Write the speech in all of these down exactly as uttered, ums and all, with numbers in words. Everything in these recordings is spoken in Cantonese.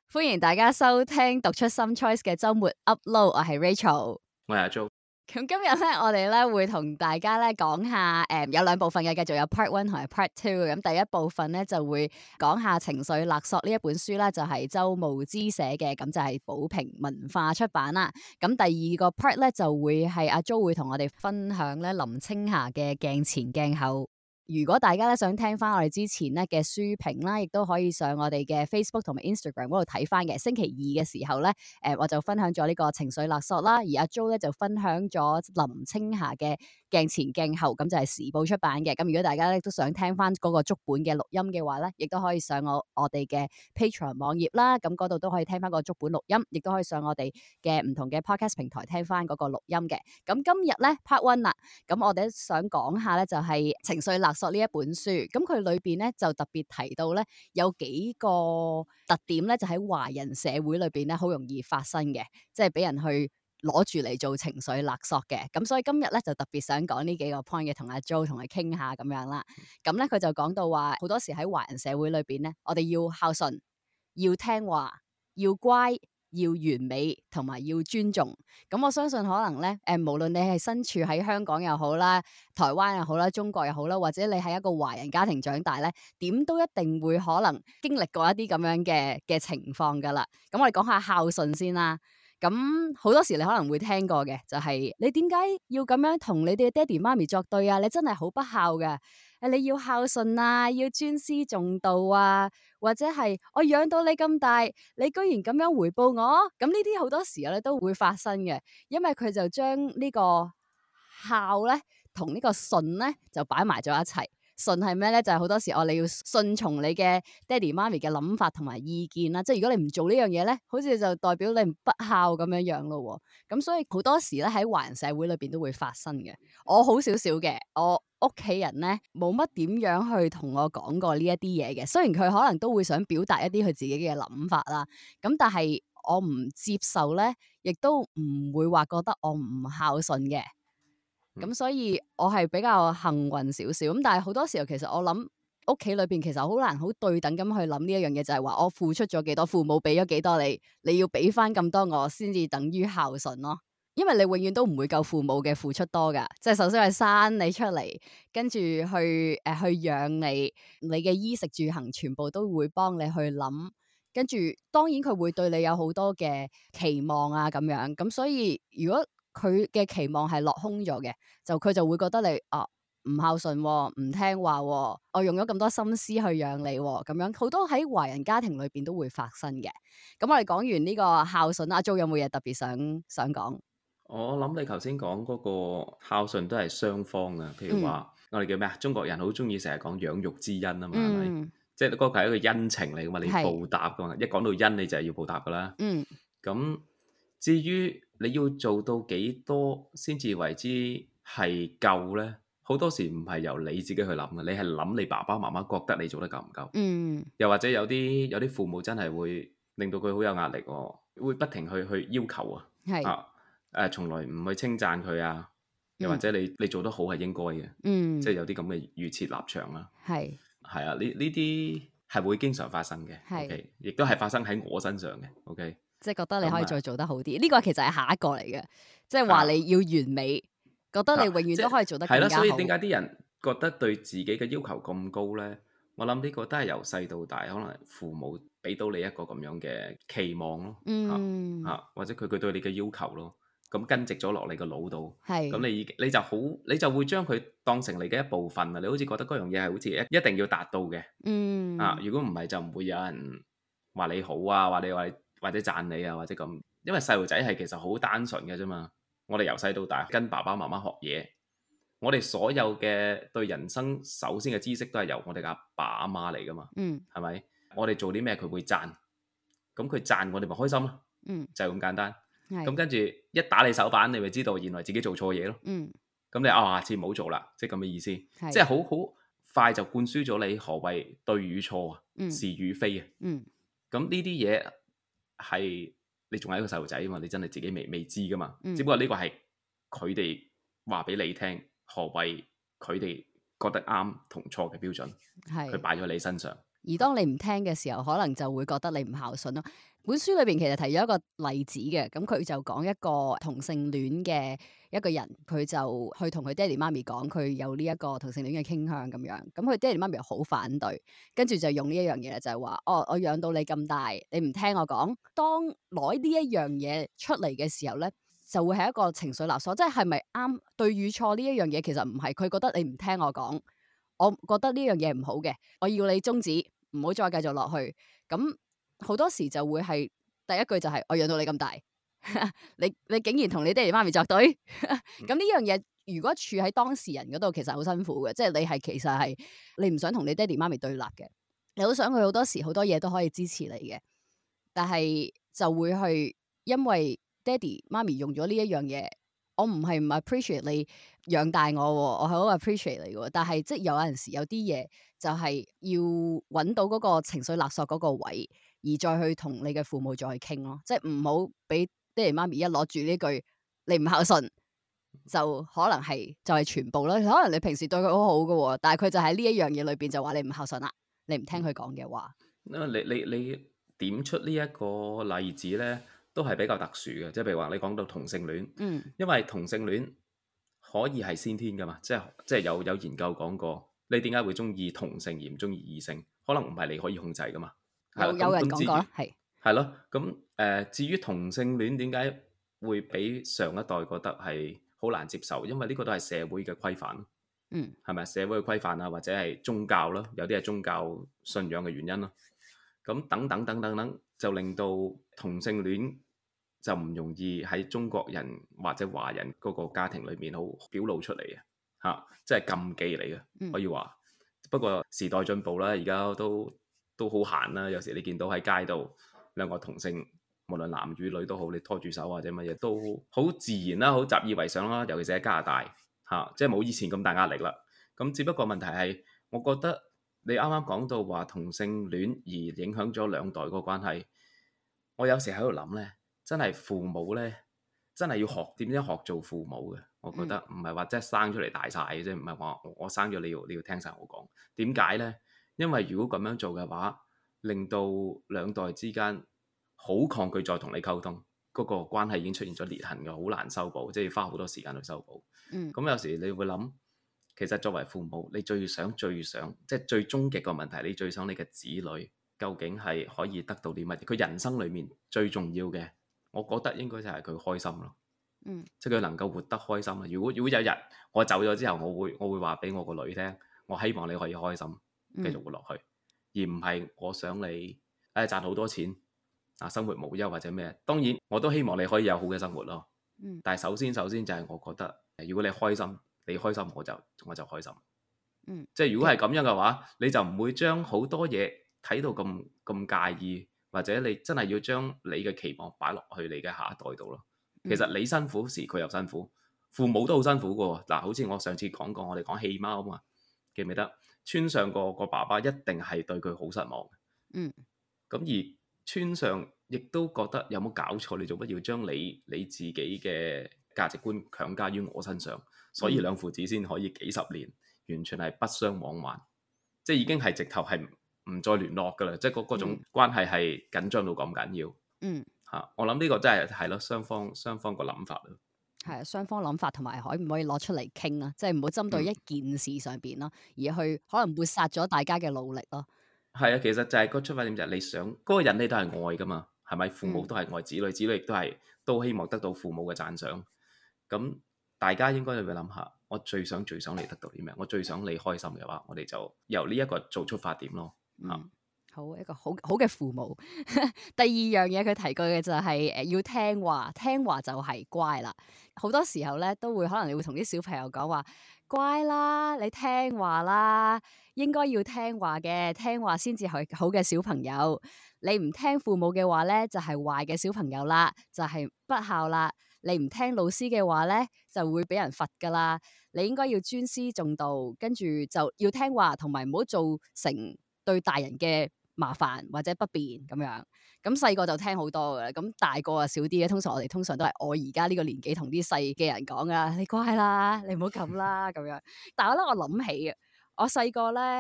歡迎大家收聽讀出 Some Choice 嘅周末 Upload，我係 Rachel， 我係阿 Jo。 咁今日咧，我哋咧會同大家咧講下，誒、嗯、有兩部分嘅，繼續有 Part One 同埋 Part Two。咁第一部分咧就會講下情緒勒索呢一本書啦，就係、是、周慕姿寫嘅，咁就係寶瓶文化出版啦。咁第二個 Part 咧就會係阿 Jo 會同我哋分享咧林青霞嘅鏡前鏡後。如果大家咧想聽翻我哋之前咧嘅書評啦，亦都可以上我哋嘅 Facebook 同埋 Instagram 嗰度睇翻嘅。星期二嘅時候咧，誒、呃、我就分享咗呢個情緒勒索啦，而阿 Jo 咧就分享咗林青霞嘅鏡前鏡後，咁就係時報出版嘅。咁如果大家咧都想聽翻嗰個足本嘅錄音嘅話咧，亦都可以上我我哋嘅 Patreon 網頁啦，咁嗰度都可以聽翻個足本錄音，亦都可以上我哋嘅唔同嘅 Podcast 平台聽翻嗰個錄音嘅。咁今日咧 Part One 啦，咁我哋想講下咧就係情緒勒索呢一本書，咁佢裏邊咧就特別提到咧有幾個特點咧，就喺華人社會裏邊咧好容易發生嘅，即係俾人去攞住嚟做情緒勒索嘅。咁所以今日咧就特別想講呢幾個 point 嘅，同阿 Jo 同佢傾下咁樣啦。咁咧佢就講到話，好多時喺華人社會裏邊咧，我哋要孝順，要聽話，要乖，要完美，同埋要尊重。咁我相信可能咧，誒、呃，無論你係身處喺香港又好啦，台灣又好啦，中國又好啦，或者你喺一個華人家庭長大咧，點都一定會可能經歷過一啲咁樣嘅嘅情況噶啦。咁我哋講下孝順先啦。咁好多時你可能會聽過嘅，就係、是、你點解要咁樣同你哋嘅爹哋媽咪作對啊？你真係好不孝嘅。誒，你要孝順啊，要尊師重道啊，或者係我養到你咁大，你居然咁樣回報我，咁呢啲好多時候咧都會發生嘅，因為佢就將呢個孝咧同呢個順咧就擺埋咗一齊。順係咩咧？就係、是、好多時我哋要順從你嘅爹哋媽咪嘅諗法同埋意見啦。即係如果你唔做呢樣嘢咧，好似就代表你唔不孝咁樣樣咯。咁所以好多時咧喺華人社會裏邊都會發生嘅。我好少少嘅，我屋企人咧冇乜點樣去同我講過呢一啲嘢嘅。雖然佢可能都會想表達一啲佢自己嘅諗法啦，咁但係我唔接受咧，亦都唔會話覺得我唔孝順嘅。咁、嗯、所以我係比較幸運少少，咁但係好多時候其實我諗屋企裏邊其實好難好對等咁去諗呢一樣嘢，就係話我付出咗幾多，父母俾咗幾多你，你要俾翻咁多我先至等於孝順咯。因為你永遠都唔會夠父母嘅付出多噶，即係首先係生你出嚟，跟住去誒、呃、去養你，你嘅衣食住行全部都會幫你去諗，跟住當然佢會對你有好多嘅期望啊咁樣，咁所以如果佢嘅期望係落空咗嘅，就佢就會覺得你啊唔孝順、哦，唔聽話、哦，我用咗咁多心思去養你、哦，咁樣好多喺華人家庭裏邊都會發生嘅。咁我哋講完呢個孝順，阿 Jo 有冇嘢特別想想講？ 我諗你頭先講嗰個孝順都係雙方嘅，譬如話、嗯、我哋叫咩啊？中國人好中意成日講養育之恩啊嘛，係咪、嗯？即係嗰個係一個恩情嚟噶嘛，你要報答噶嘛。是一講到恩，你就係要報答噶啦。嗯，咁至於你要做到幾多先至為之係夠咧？好多時唔係由你自己去諗嘅，你係諗你爸爸媽媽覺得你做得夠唔夠？嗯，又或者有啲有啲父母真係會令到佢好有壓力喎，會不停去去要求啊，係啊，誒，從來唔去稱讚佢啊，又或者你你做得好係應該嘅，嗯，即係有啲咁嘅預設立場啦，係係啊，呢呢啲係會經常發生嘅，係，OK，亦都係發生喺我身上嘅，OK。 即係覺得你可以再做得好啲，呢個其實係下一個嚟嘅，即係話你要完美，啊、覺得你永遠都可以做得更加好。係啦， 所以點解啲人覺得對自己嘅要求咁高咧？我諗呢個都係由細到大，可能父母俾到你一個咁樣嘅期望咯，嗯，吓、啊、或者佢佢對你嘅要求咯，咁根植咗落你個腦度，係，咁你你就好，你就會將佢當成你嘅一部分啦。你好似覺得嗰樣嘢係好似一一定要達到嘅，嗯，啊，如果唔係就唔會有人話你好啊，話你話你。或者讚你啊，或者咁，因為細路仔係其實好單純嘅啫嘛。我哋由細到大跟爸爸媽媽學嘢，我哋所有嘅對人生首先嘅知識都係由我哋阿爸阿媽嚟噶嘛。嗯，係咪？我哋做啲咩佢會讚，咁佢讚我哋咪開心咯。嗯，就係咁簡單。咁跟住一打你手板，你咪知道原來自己做錯嘢咯。嗯，咁你啊下次唔好做啦，即係咁嘅意思。是即係好好快就灌輸咗你何謂對與錯啊，嗯、是與非啊。嗯，咁呢啲嘢。係你仲係一個細路仔啊嘛，你真係自己未未知噶嘛，嗯、只不過呢個係佢哋話俾你聽，何謂佢哋覺得啱同錯嘅標準，係佢擺咗喺你身上。 而當你唔聽嘅時候，可能就會覺得你唔孝順咯。本書裏邊其實提咗一個例子嘅，咁佢就講一個同性戀嘅一個人，佢就去同佢爹哋媽咪講佢有呢一個同性戀嘅傾向咁樣，咁佢爹哋媽咪又好反對，跟住就用呢一樣嘢就係話，哦，我養到你咁大，你唔聽我講，當攞呢一樣嘢出嚟嘅時候咧，就會係一個情緒勒索，即係係咪啱對與錯呢一樣嘢，其實唔係，佢覺得你唔聽我講，我覺得呢樣嘢唔好嘅，我要你終止，唔好再繼續落去，咁。好多時就會係第一句就係、是、我養到你咁大，你你竟然同你爹哋媽咪作對，咁呢樣嘢如果處喺當事人嗰度，其實好辛苦嘅，即係你係其實係你唔想同你爹哋媽咪對立嘅，你好想佢好多時好多嘢都可以支持你嘅，但係就會去因為爹哋媽咪用咗呢一樣嘢，我唔係唔 appreciate 你養大我，我係好 appreciate 你嘅，但係即係有陣時有啲嘢就係要揾到嗰個情緒勒索嗰個位。而再去同你嘅父母再去傾咯，即係唔好俾爹哋媽咪一攞住呢句你唔孝順，就可能係就係全部咯。可能你平時對佢好好嘅，但係佢就喺呢一樣嘢裏邊就話你唔孝順啦，你唔聽佢講嘅話。你你你點出呢一個例子咧，都係比較特殊嘅，即係譬如話你講到同性戀， 嗯， 因為同性戀可以係先天噶嘛，即係即係有有研究講過，你點解會中意同性而唔中意異性，可能唔係你可以控制噶嘛。 有有人講過啦，係係咯，咁誒、呃，至於同性戀點解會俾上一代覺得係好難接受？因為呢個都係社會嘅規範， 嗯， 係咪社會嘅規範啊，或者係宗教咯，有啲係宗教信仰嘅原因咯。咁等等等等等，就令到同性戀就唔容易喺中國人或者華人嗰個家庭裏面好表露出嚟嘅，嚇、啊，即係禁忌嚟嘅，可以話。嗯、不過時代進步啦，而家都。都好閒啦，有時你見到喺街度兩個同性，無論男與女都好，你拖住手或者乜嘢都好自然啦，好習以為常啦。尤其是喺加拿大嚇、啊，即係冇以前咁大壓力啦。咁只不過問題係，我覺得你啱啱講到話同性戀而影響咗兩代個關係，我有時喺度諗咧，真係父母咧，真係要學點樣學做父母嘅。我覺得唔係話即係生出嚟大晒嘅啫，唔係話我生咗你要你要聽晒我講。點解咧？因為如果咁樣做嘅話，令到兩代之間好抗拒再同你溝通，嗰、那個關係已經出現咗裂痕嘅，好難修補，即係要花好多時間去修補。嗯，咁有時你會諗，其實作為父母，你最想最想，即係最終極個問題，你最想你嘅子女究竟係可以得到啲乜嘢？佢人生裡面最重要嘅，我覺得應該就係佢開心咯。嗯，即係佢能夠活得開心啊！如果如果有日我走咗之後，我會我會話俾我個女聽，我希望你可以開心。繼續活落去，而唔係我想你誒賺好多錢啊，生活無憂或者咩？當然我都希望你可以有好嘅生活咯。嗯，但係首先首先就係我覺得，如果你開心，你開心我就我就開心。嗯，即係如果係咁樣嘅話，你就唔會將好多嘢睇到咁咁介意，或者你真係要將你嘅期望擺落去你嘅下一代度咯。其實你辛苦時佢又辛苦，父母都好辛苦㗎喎。嗱，好似我上次講過，我哋講棄貓啊嘛，記唔記得？村上個個爸爸一定係對佢好失望。嗯，咁而村上亦都覺得有冇搞錯？你做乜要將你你自己嘅價值觀強加於我身上？所以兩父子先可以幾十年完全係不相往還，即係已經係直頭係唔再聯絡噶啦，即係嗰嗰種關係係緊張到咁緊要。嗯，嚇，我諗呢個真係係咯，雙方雙方個諗法咯。 係啊，雙方諗法同埋可唔可以攞出嚟傾啊？即係唔好針對一件事上邊咯，嗯、而去可能抹殺咗大家嘅努力咯。 係啊，其實就係個出發點就係你想嗰、嗰個人你都係愛噶嘛，係咪？父母都係愛子女，嗯、子女亦都係都希望得到父母嘅讚賞。咁大家應該要諗下，我最想最想你得到啲咩？我最想你開心嘅話，我哋就由呢一個做出發點咯。嚇、嗯。 好一個好好嘅父母。第二樣嘢佢提過嘅就係誒要聽話，聽話就係乖啦。好多時候咧都會可能你會同啲小朋友講話，乖啦，你聽話啦，應該要聽話嘅，聽話先至係好嘅小朋友。你唔聽父母嘅話咧，就係壞嘅小朋友啦，就係不孝啦。你唔聽老師嘅話咧，就會俾人罰噶啦。你應該要尊師重道，跟住就要聽話，同埋唔好做成對大人嘅麻煩或者不便咁樣，咁細個就聽好多嘅，咁大個啊少啲嘅。通常我哋通常都係我而家呢個年紀同啲細嘅人講噶，你乖啦，你唔好咁啦咁樣。但係我咧，我諗起嘅，我細個咧，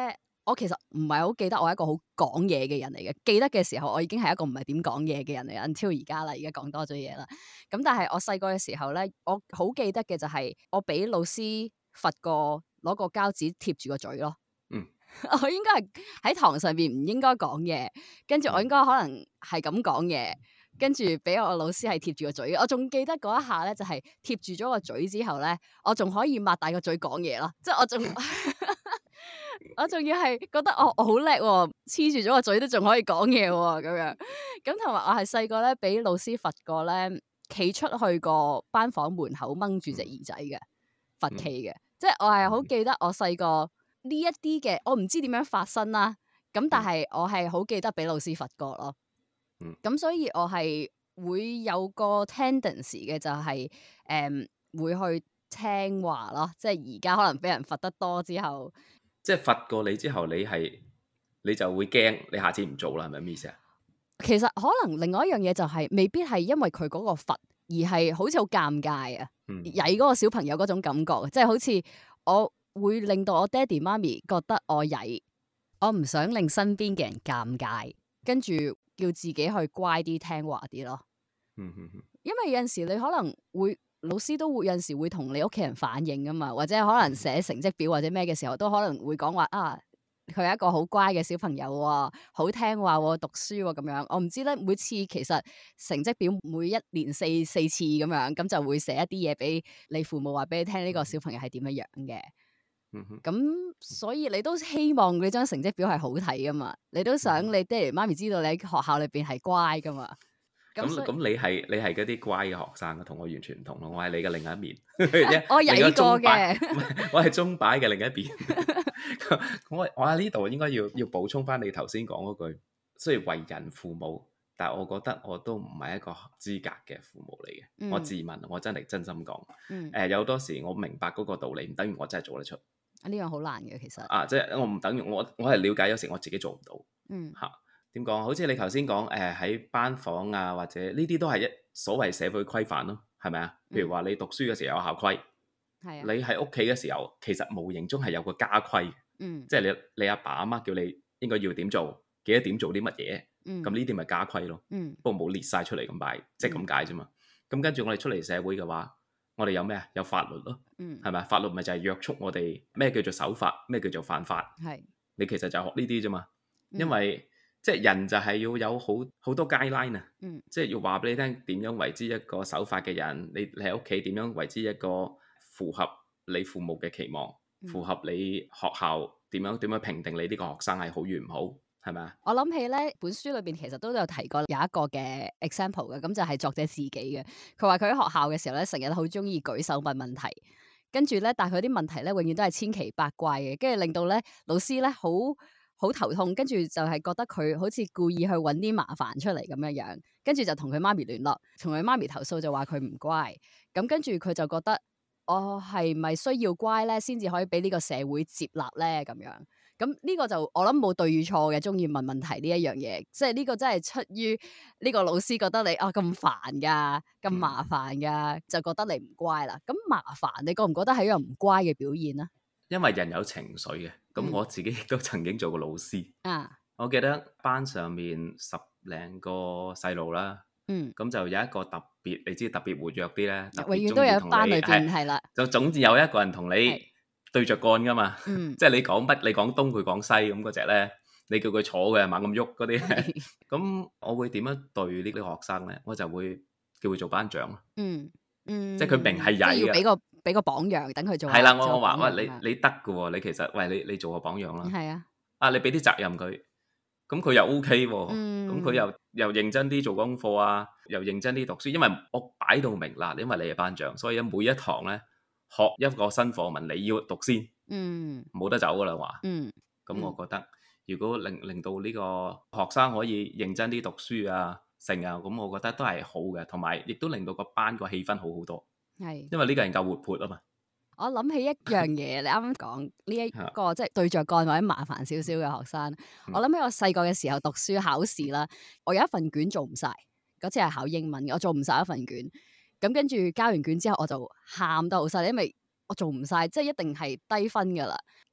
我其實唔係好記得我係一個好講嘢嘅人嚟嘅。記得嘅時候，我已經係一個唔係點講嘢嘅人嚟嘅。until 而家啦，而家講多咗嘢啦。咁但係我細個嘅時候咧，我好記得嘅就係我俾老師罰過攞個膠紙貼住個嘴咯。嗯，我應該係喺堂上邊唔應該講嘢，跟住我應該可能係咁講嘢，跟住俾我老師係貼住個嘴。我仲記得嗰一下咧，就係貼住咗個嘴之後咧，我仲可以擘大個嘴講嘢咯。即係我仲。我仲要係覺得我我好叻喎，黐住咗個嘴都仲可以講嘢喎，咁樣咁同埋我係細個咧俾老師罰過咧，企出去個班房門口掹住隻耳仔嘅罰企嘅，即係我係好記得我細個呢一啲嘅，我唔知點樣發生啦，咁但係我係好記得俾老師罰過咯，咁所以我係會有個 tendency 嘅就係、是、誒、嗯、會去聽話咯，即係而家可能俾人罰得多之後。 即係罰過你之後，你係你就會驚，你下次唔做啦，係咪咩意思啊？ 其實可能另外一樣嘢就係、是，未必係因為佢嗰個罰，而係好似好尷尬啊，曳嗰、嗯、個小朋友嗰種感覺，即係好似我會令到我爹哋媽咪覺得我曳，我唔想令身邊嘅人尷尬，跟住叫自己去乖啲聽話啲咯。嗯嗯嗯、因為有陣時你可能會。老師都會有陣時會同你屋企人反映噶嘛，或者可能寫成績表或者咩嘅時候，都可能會講話啊，佢係一個好乖嘅小朋友喎，好聽話喎，讀書喎咁樣。我唔知咧，每次其實成績表每一年四四次咁樣，咁就會寫一啲嘢俾你父母話俾你聽，呢個小朋友係點樣樣嘅。嗯哼，咁所以你都希望你張成績表係好睇噶嘛，你都想你爹哋媽咪知道你喺學校裏邊係乖噶嘛。 咁咁你係你係嗰啲乖嘅學生啊，同我完全唔同咯。我係你嘅另一面， 我曳過嘅， 我係鐘擺嘅另一邊。我我喺呢度應該要要補充翻你頭先講嗰句，雖然為人父母，但係我覺得我都唔係一個合資格嘅父母嚟嘅。嗯、我自問，我真係真心講。誒、嗯呃，有多時我明白嗰個道理，唔等於我真係做得出。呢樣好難嘅，其實啊，即係我唔等於我我係了解，有時我自己做唔到。嗯，嚇。點講？好似你頭先講，誒喺班房啊，或者呢啲都係一所謂社會規範咯，係咪啊？譬如話你讀書嘅時候有校規，嗯、你喺屋企嘅時候，其實無形中係有個家規，嗯、即係你你阿爸阿媽叫你應該要點做，記得點做啲乜嘢，咁呢啲咪家規咯。嗯、不過冇列晒出嚟咁擺，即係咁解啫嘛。咁跟住我哋出嚟社會嘅話，我哋有咩啊？有法律咯，係咪、嗯？法律咪就係約束我哋咩叫做守法，咩叫做犯法。係是你其實就學呢啲啫嘛，因為。嗯即係人就係要有好好多 guideline 啊，嗯、即係要話俾你聽點樣為之一個守法嘅人，你你喺屋企點樣為之一個符合你父母嘅期望，嗯、符合你學校點樣點樣評定你呢個學生係好與唔好，係咪啊？我諗起咧本書裏邊其實都有提過有一個嘅 example 嘅，咁就係作者自己嘅。佢話佢喺學校嘅時候咧，成日好中意舉手問問題，跟住咧，但係佢啲問題咧永遠都係千奇百怪嘅，跟住令到咧老師咧好。好頭痛，跟住就係覺得佢好似故意去揾啲麻煩出嚟咁樣樣，跟住就同佢媽咪聯絡，同佢媽咪投訴就話佢唔乖，咁跟住佢就覺得我係咪需要乖咧，先至可以俾呢個社會接納咧咁樣？咁呢個就我諗冇對與錯嘅，中意問問題呢一樣嘢，即係呢個真係出於呢個老師覺得你啊咁煩噶，咁麻煩噶，就覺得你唔乖啦。咁麻煩，你覺唔覺得係一樣唔乖嘅表現啊？ 因為人有情緒嘅，咁我自己亦都曾經做過老師。啊，我記得班上面十零個細路啦，嗯，咁就有一個特別，你知特別活躍啲咧， 永遠都有班裏邊係啦， 就總之有一個人同你對着幹噶嘛，嗯，即係你講乜，你講東佢講西咁嗰隻咧，你叫佢坐嘅猛咁喐嗰啲，咁我會點樣對呢啲學生咧？我就會叫佢做班長咯，嗯嗯，即係佢明係曳嘅。 俾個榜樣，等佢做。 係啦，我我話喂，你你得嘅喎，你其實喂你你做個榜樣啦。係啊，啊你俾啲責任佢，咁佢又 OK 喎，咁佢又又認真啲做功課啊，又認真啲讀書，因為我擺到明啦，因為你係班長，所以每一堂咧學一個新課文，你要讀先，嗯，冇得走噶啦話，嗯，咁我覺得如果令令到呢個學生可以認真啲讀書啊，成啊，咁我覺得都係好嘅，同埋亦都令到個班個氣氛好好多。係，因為呢個人夠活潑啊嘛。 我諗起一樣嘢，你啱啱講呢一個即係對着幹或者麻煩少少嘅學生。嗯、我諗起我細個嘅時候讀書考試啦，我有一份卷做唔晒，嗰次係考英文嘅，我做唔晒一份卷。咁跟住交完卷之後，我就喊得好犀利，因為我做唔晒，即係一定係低分噶啦。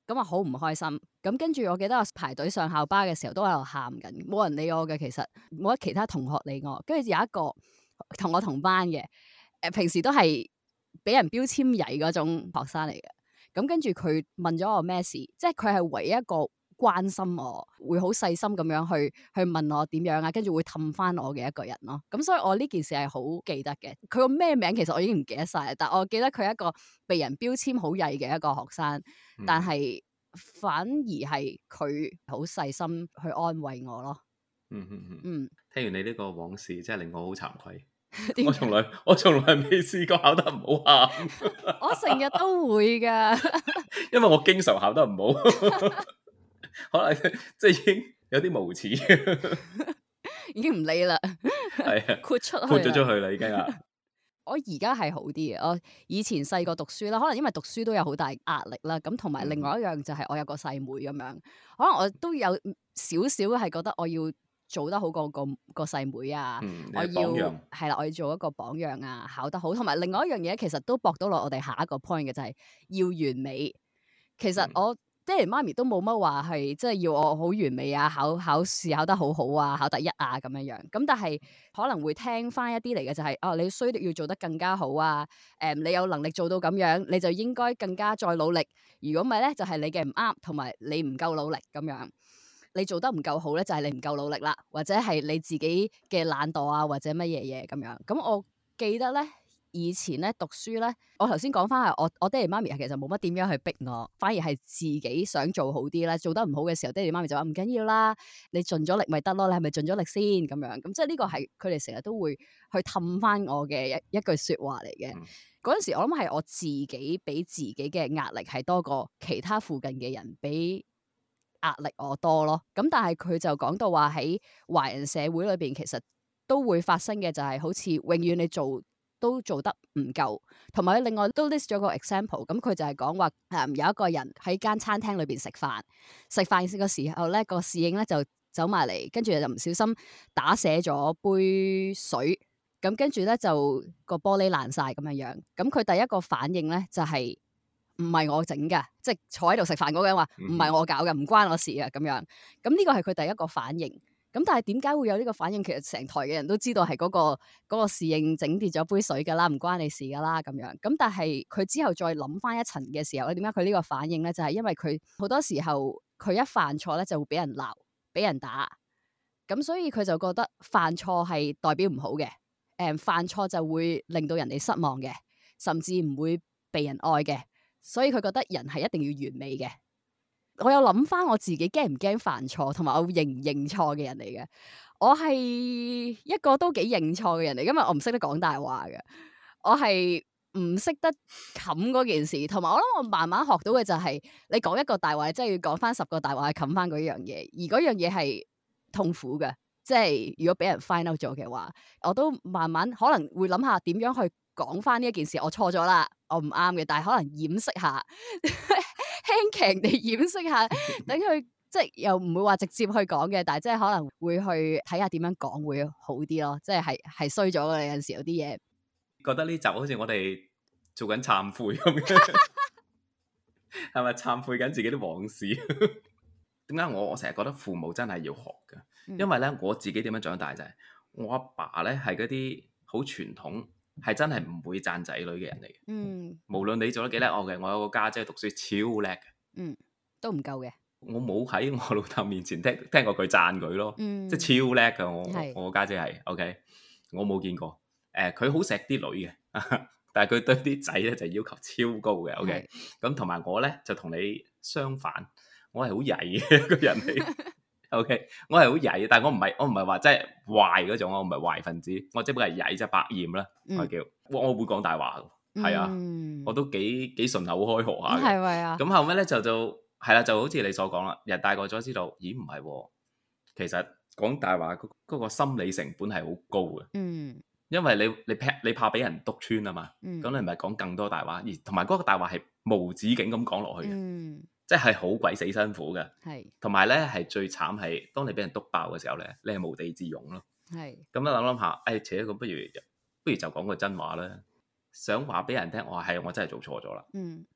咁啊好唔開心。咁跟住我記得我排隊上校巴嘅時候都喺度喊緊，冇人理我嘅，其實冇得其他同學理我。跟住有一個同我同班嘅，誒、呃、平時都係俾人標籤曳嗰種學生嚟嘅。咁跟住佢問咗我咩事，即係佢係唯一一個關心我，會好細心咁樣去去問我點樣啊，跟住會氹翻我嘅一個人咯。咁所以我呢件事係好記得嘅。佢個咩名其實我已經唔記得晒，但我記得佢係一個被人標籤好曳嘅一個學生，嗯、但係反而係佢好細心去安慰我咯。 嗯嗯嗯。 嗯， 聽完你呢個往事，真係令我好慚愧。我從來我從來未試過考得唔好喊。 我成日都會噶， 因為我經常考得唔好，可能即係已經有啲無恥， 已經唔理啦， 係啊， 豁出去豁咗出去啦，已經啊。 我而家係好啲嘅，我以前細個讀書啦，可能因為讀書都有好大壓力啦，咁同埋另外一樣就係我有個細妹咁樣，可能我都有少少係覺得我要做得好過個個細妹啊， 嗯、 我要係啦，我要做一個榜樣啊，考得好，同埋另外一樣嘢其實都駁到落我哋下一個 point 嘅就係、是、要完美。其實我、嗯、爹哋媽咪都冇乜話係即係要我好完美啊，考考試考得好好啊，考第一啊咁樣樣。咁但係可能會聽翻一啲嚟嘅就係、是、哦、啊，你需要做得更加好啊，誒、嗯，你有能力做到咁樣，你就應該更加再努力。如果唔係咧，就係、是、你嘅唔啱，同埋你唔夠努力咁樣。你做得唔夠好咧，就係、是、你唔夠努力啦，或者係你自己嘅懶惰啊，或者乜嘢嘢咁樣。咁我記得咧，以前咧讀書咧，我頭先講翻係我我爹哋媽咪其實冇乜點樣去逼我，反而係自己想做好啲咧。做得唔好嘅時候，爹哋媽咪就話唔緊要啦，你盡咗力咪得咯，你係咪盡咗力先咁樣？咁即係呢個係佢哋成日都會去氹翻我嘅一一句説話嚟嘅。嗰陣、嗯、時我諗係我自己俾自己嘅壓力係多過其他附近嘅人俾壓力我多咯，咁但係佢就講到話喺華人社會裏邊，其實都會發生嘅就係好似永遠你做都做得唔夠，同埋另外都 list 咗個 example，咁佢就係講話誒有一個人喺間餐廳裏邊食飯，食飯嘅時候咧個侍應咧就走埋嚟，跟住就唔小心打瀉咗杯水，咁跟住咧就個玻璃爛晒咁樣樣，咁佢第一個反應咧就係、是。唔係我整㗎，即係坐喺度食飯嗰個人話唔係我搞嘅，唔關我事嘅咁樣。咁呢個係佢第一個反應。咁但係點解會有呢個反應？其實成台嘅人都知道係嗰個嗰個侍應整跌咗杯水㗎啦，唔關你事㗎啦咁樣。咁但係佢之後再諗翻一層嘅時候咧，點解佢呢個反應咧？就係因為佢好多時候佢一犯錯咧就會俾人鬧、俾人打。咁所以佢就覺得犯錯係代表唔好嘅。誒，犯錯就會令到人哋失望嘅，甚至唔會被人愛嘅。所以佢覺得人係一定要完美嘅。我有諗翻我自己驚唔驚犯錯，同埋我認唔認錯嘅人嚟嘅。我係一個都幾認錯嘅人嚟，因為我唔識得講大話嘅。我係唔識得冚嗰件事，同埋我諗我慢慢學到嘅就係、是，你講一個大話，你真係要講翻十個大話去冚翻嗰樣嘢，而嗰樣嘢係痛苦嘅。即係如果俾人 find out 咗嘅話，我都慢慢可能會諗下點樣去講翻呢一件事，我錯咗啦，我唔啱嘅，但係可能掩飾下，輕強地掩飾下，等佢即係又唔會話直接去講嘅，但係即係可能會去睇下點樣講會好啲咯，即係係係衰咗嘅，有陣時有啲嘢。覺得呢集好似我哋做緊懺悔咁樣，係咪懺悔緊自己啲往事？點解我我成日覺得父母真係要學㗎？嗯、因為咧我自己點樣長大就係、是、我阿爸咧係嗰啲好傳統，係真係唔會讚仔女嘅人嚟嘅。嗯，無論你做得幾叻，我嘅我有個家姐，姐讀書超叻嘅。嗯，都唔夠嘅。我冇喺我老豆面前聽聽過佢讚佢咯。嗯，即係超叻㗎。我是我家姐係 OK，我冇見過。誒、呃，佢好錫啲女嘅，但係佢對啲仔咧就要求超高嘅。OK，咁同埋我咧就同你相反。我係好曳嘅一個人嚟，OK，我係好曳，但係我唔係我唔係話真係壞嗰種，我唔係壞分子，我只不過係曳，即係百厭啦，嗯、我叫我我會講大話嘅，係啊，嗯、我都幾幾順口開河下嘅，係咪啊？咁後尾咧就就係啦，就好似你所講啦，人大個咗知道，咦唔係喎，其實講大話嗰嗰個心理成本係好高嘅，嗯，因為你你怕你怕俾人督穿啊嘛，咁、嗯、你咪講更多大話，而同埋嗰個大話係無止境咁講落去嘅。嗯，即係好鬼死辛苦嘅，係同埋咧係最慘係，當你俾人督爆嘅時候咧，你係無地自容咯。係咁樣諗諗下，誒，扯咁不如不如就講個真話啦。想話俾人聽，我係我真係做錯咗啦。嗯，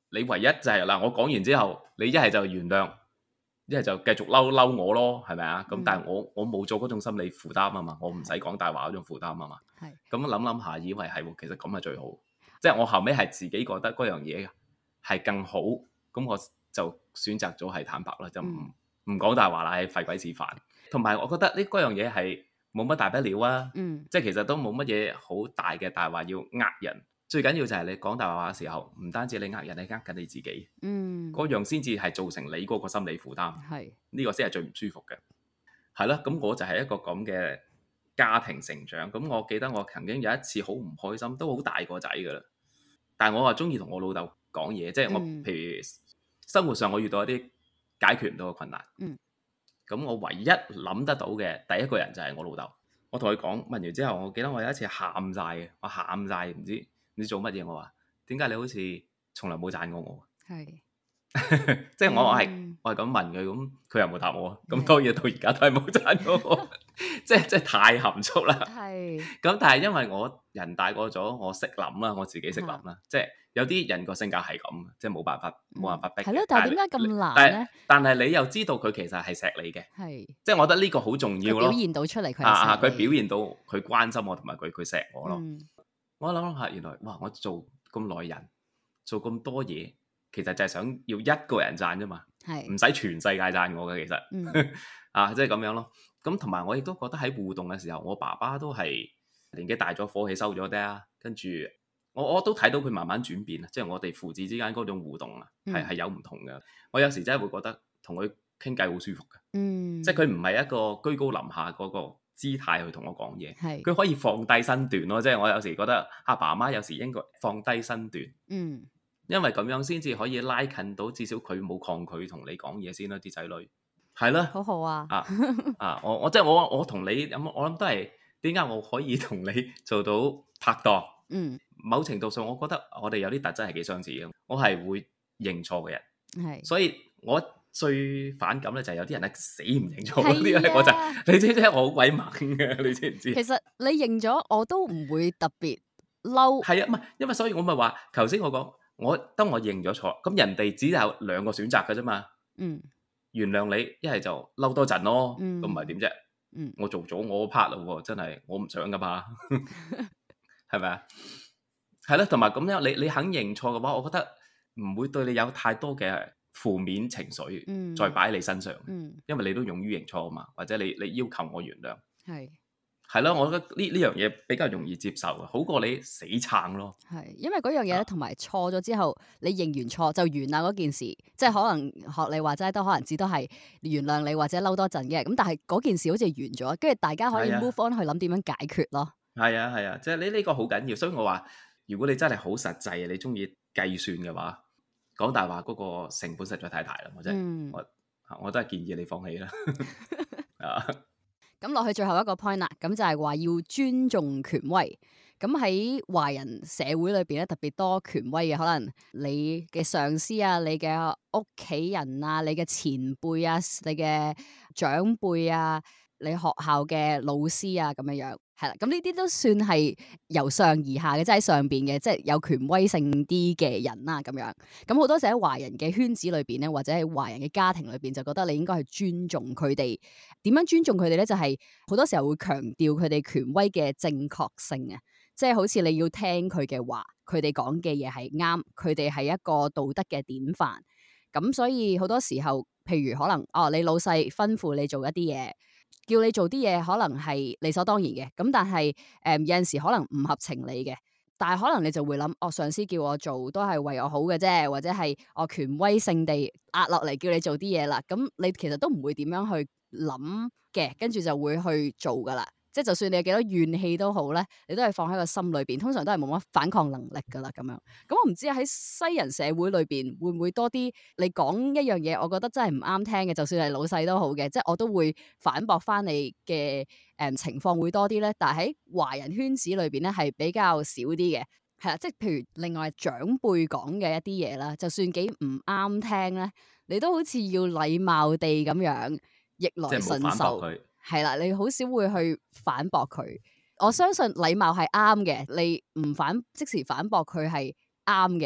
你唯一就係、是、嗱，我講完之後，你一係就原諒，一係就繼續嬲嬲我咯，係咪啊？咁、嗯、但係我我冇做嗰種心理負擔啊嘛，我唔使講大話嗰種負擔啊嘛。係咁諗諗下，以為係其實咁係最好。即係我後尾係自己覺得嗰樣嘢係更好，咁我就選擇咗係坦白啦，就唔唔講大話啦，係廢鬼事煩。同埋我覺得呢嗰樣嘢係冇乜大不了啊，嗯、即係其實都冇乜嘢好大嘅大話要呃人。最緊要就係你講大話嘅時候，唔單止你呃人，你呃緊你自己，嗰、嗯、樣先至係造成你嗰個心理負擔。係呢個先係最唔舒服嘅。係咯，咁我就係一個咁嘅家庭成長。咁我記得我曾經有一次好唔開心，都好大個仔噶啦。但係我話中意同我老豆講嘢，即係我、嗯、譬如生活上我遇到一啲解決唔到嘅困難，咁、嗯、我唯一諗得到嘅第一個人就係我老豆。我同佢講，問完之後，我記得我有一次喊晒嘅，我喊晒唔知。唔知做乜嘢，我話點解你好似從來冇讚過我？係是，即係我係、嗯、我係咁問佢，咁佢又冇答我，咁當然到而家都係冇讚過我，即係即係太含蓄啦。係是，咁但係因為我人大個咗，我識諗啦，我自己識諗啦，是即係有啲人個性格係咁，即係冇辦法冇辦法逼。係咯、嗯，但係點解咁難咧？但係你又知道佢其實係錫你嘅，係是，即係我覺得呢個好重要咯。表現到出嚟佢啊，佢表現到佢關心我同埋佢佢錫我咯。嗯我諗諗下，原來哇！我做咁耐人，做咁多嘢，其實就係想要一個人讚啫嘛，係唔使全世界讚我嘅，其實，嗯、啊，即係咁樣咯。咁同埋我亦都覺得喺互動嘅時候，我爸爸都係年紀大咗，火氣收咗啲啊。跟住我我都睇到佢慢慢轉變啊，即係我哋父子之間嗰種互動啊，係係有唔同嘅。我有時真係會覺得同佢傾偈好舒服嘅，嗯、即係佢唔係一個居高臨下嗰個姿態去同我講嘢，佢是可以放低身段咯，即係我有時覺得阿爸阿媽有時應該放低身段，嗯，因為咁樣先至可以拉近到，至少佢冇抗拒同你講嘢先啦，啲仔女係啦，好好啊，啊啊，我我即係我我同你咁，我諗都係點解我可以同你做到拍檔，嗯，某程度上我覺得我哋有啲特質係幾相似嘅，我係會認錯嘅人，係是，所以我。最反感咧就係有啲人咧死唔認錯嗰啲咧，我就你知唔知我好鬼猛嘅？你知唔知？其實你認咗我都唔會特別嬲。係啊，唔係因為所以我咪話頭先我講，我當我認咗錯，咁人哋只有兩個選擇嘅啫嘛。嗯，原諒你，一係就嬲多陣咯。咁唔係點啫？嗯，我做咗我 part 啦，真係我唔想噶嘛，係咪啊？係咯，同埋咁樣你你肯認錯嘅話，我覺得唔會對你有太多嘅負面情緒、嗯、再擺喺你身上，嗯、因為你都勇於認錯啊嘛，或者你你要求我原諒，係係咯，我覺得呢呢樣嘢比較容易接受啊，好過你死撐咯。係，因為嗰樣嘢咧，同埋錯咗之後，你認完錯就完啦嗰件事，即係可能學你話齋都可能只都係原諒你或者嬲多陣嘅，咁但係嗰件事好似完咗，跟住大家可以 move on 去諗點樣解決咯。係啊係啊，即係你呢個好緊要，所以我話如果你真係好實際，你中意計算嘅話。講大話嗰個成本實在太大啦，我真係、嗯、我我都係建議你放棄啦。啊，咁落去最後一個 point 啦，咁就係話要尊重權威。咁喺華人社會裏邊咧，特別多權威嘅，可能你嘅上司啊、你嘅屋企人啊、你嘅前輩啊、你嘅長輩啊、你學校嘅老師啊咁樣樣。係啦，咁呢啲都算係由上而下嘅，即係喺上邊嘅，即係有權威性啲嘅人啦，咁樣。咁好多時喺華人嘅圈子裏邊咧，或者喺華人嘅家庭裏邊，就覺得你應該去尊重佢哋。點樣尊重佢哋咧？就係好多時候會強調佢哋權威嘅正確性啊，即係好似你要聽佢嘅話，佢哋講嘅嘢係啱，佢哋係一個道德嘅典範。咁所以好多時候，譬如可能哦，你老細吩咐你做一啲嘢。叫你做啲嘢可能係理所當然嘅，咁但係誒、呃、有陣時可能唔合情理嘅，但係可能你就會諗，哦，上司叫我做都係為我好嘅啫，或者係我權威性地壓落嚟叫你做啲嘢啦，咁你其實都唔會點樣去諗嘅，跟住就會去做噶啦。即係就算你有幾多怨氣都好咧，你都係放喺個心裏邊，通常都係冇乜反抗能力噶啦咁樣。咁我唔知喺西人社會裏邊會唔會多啲你講一樣嘢，我覺得真係唔啱聽嘅，就算係老細都好嘅，即係我都會反駁翻你嘅誒、呃、情況會多啲咧。但係喺華人圈子裏邊咧係比較少啲嘅，係啦，即係譬如另外長輩講嘅一啲嘢啦，就算幾唔啱聽咧，你都好似要禮貌地咁樣逆來順受。係啦，你好少會去反駁佢。我相信禮貌係啱嘅，你唔反即時反駁佢係啱嘅。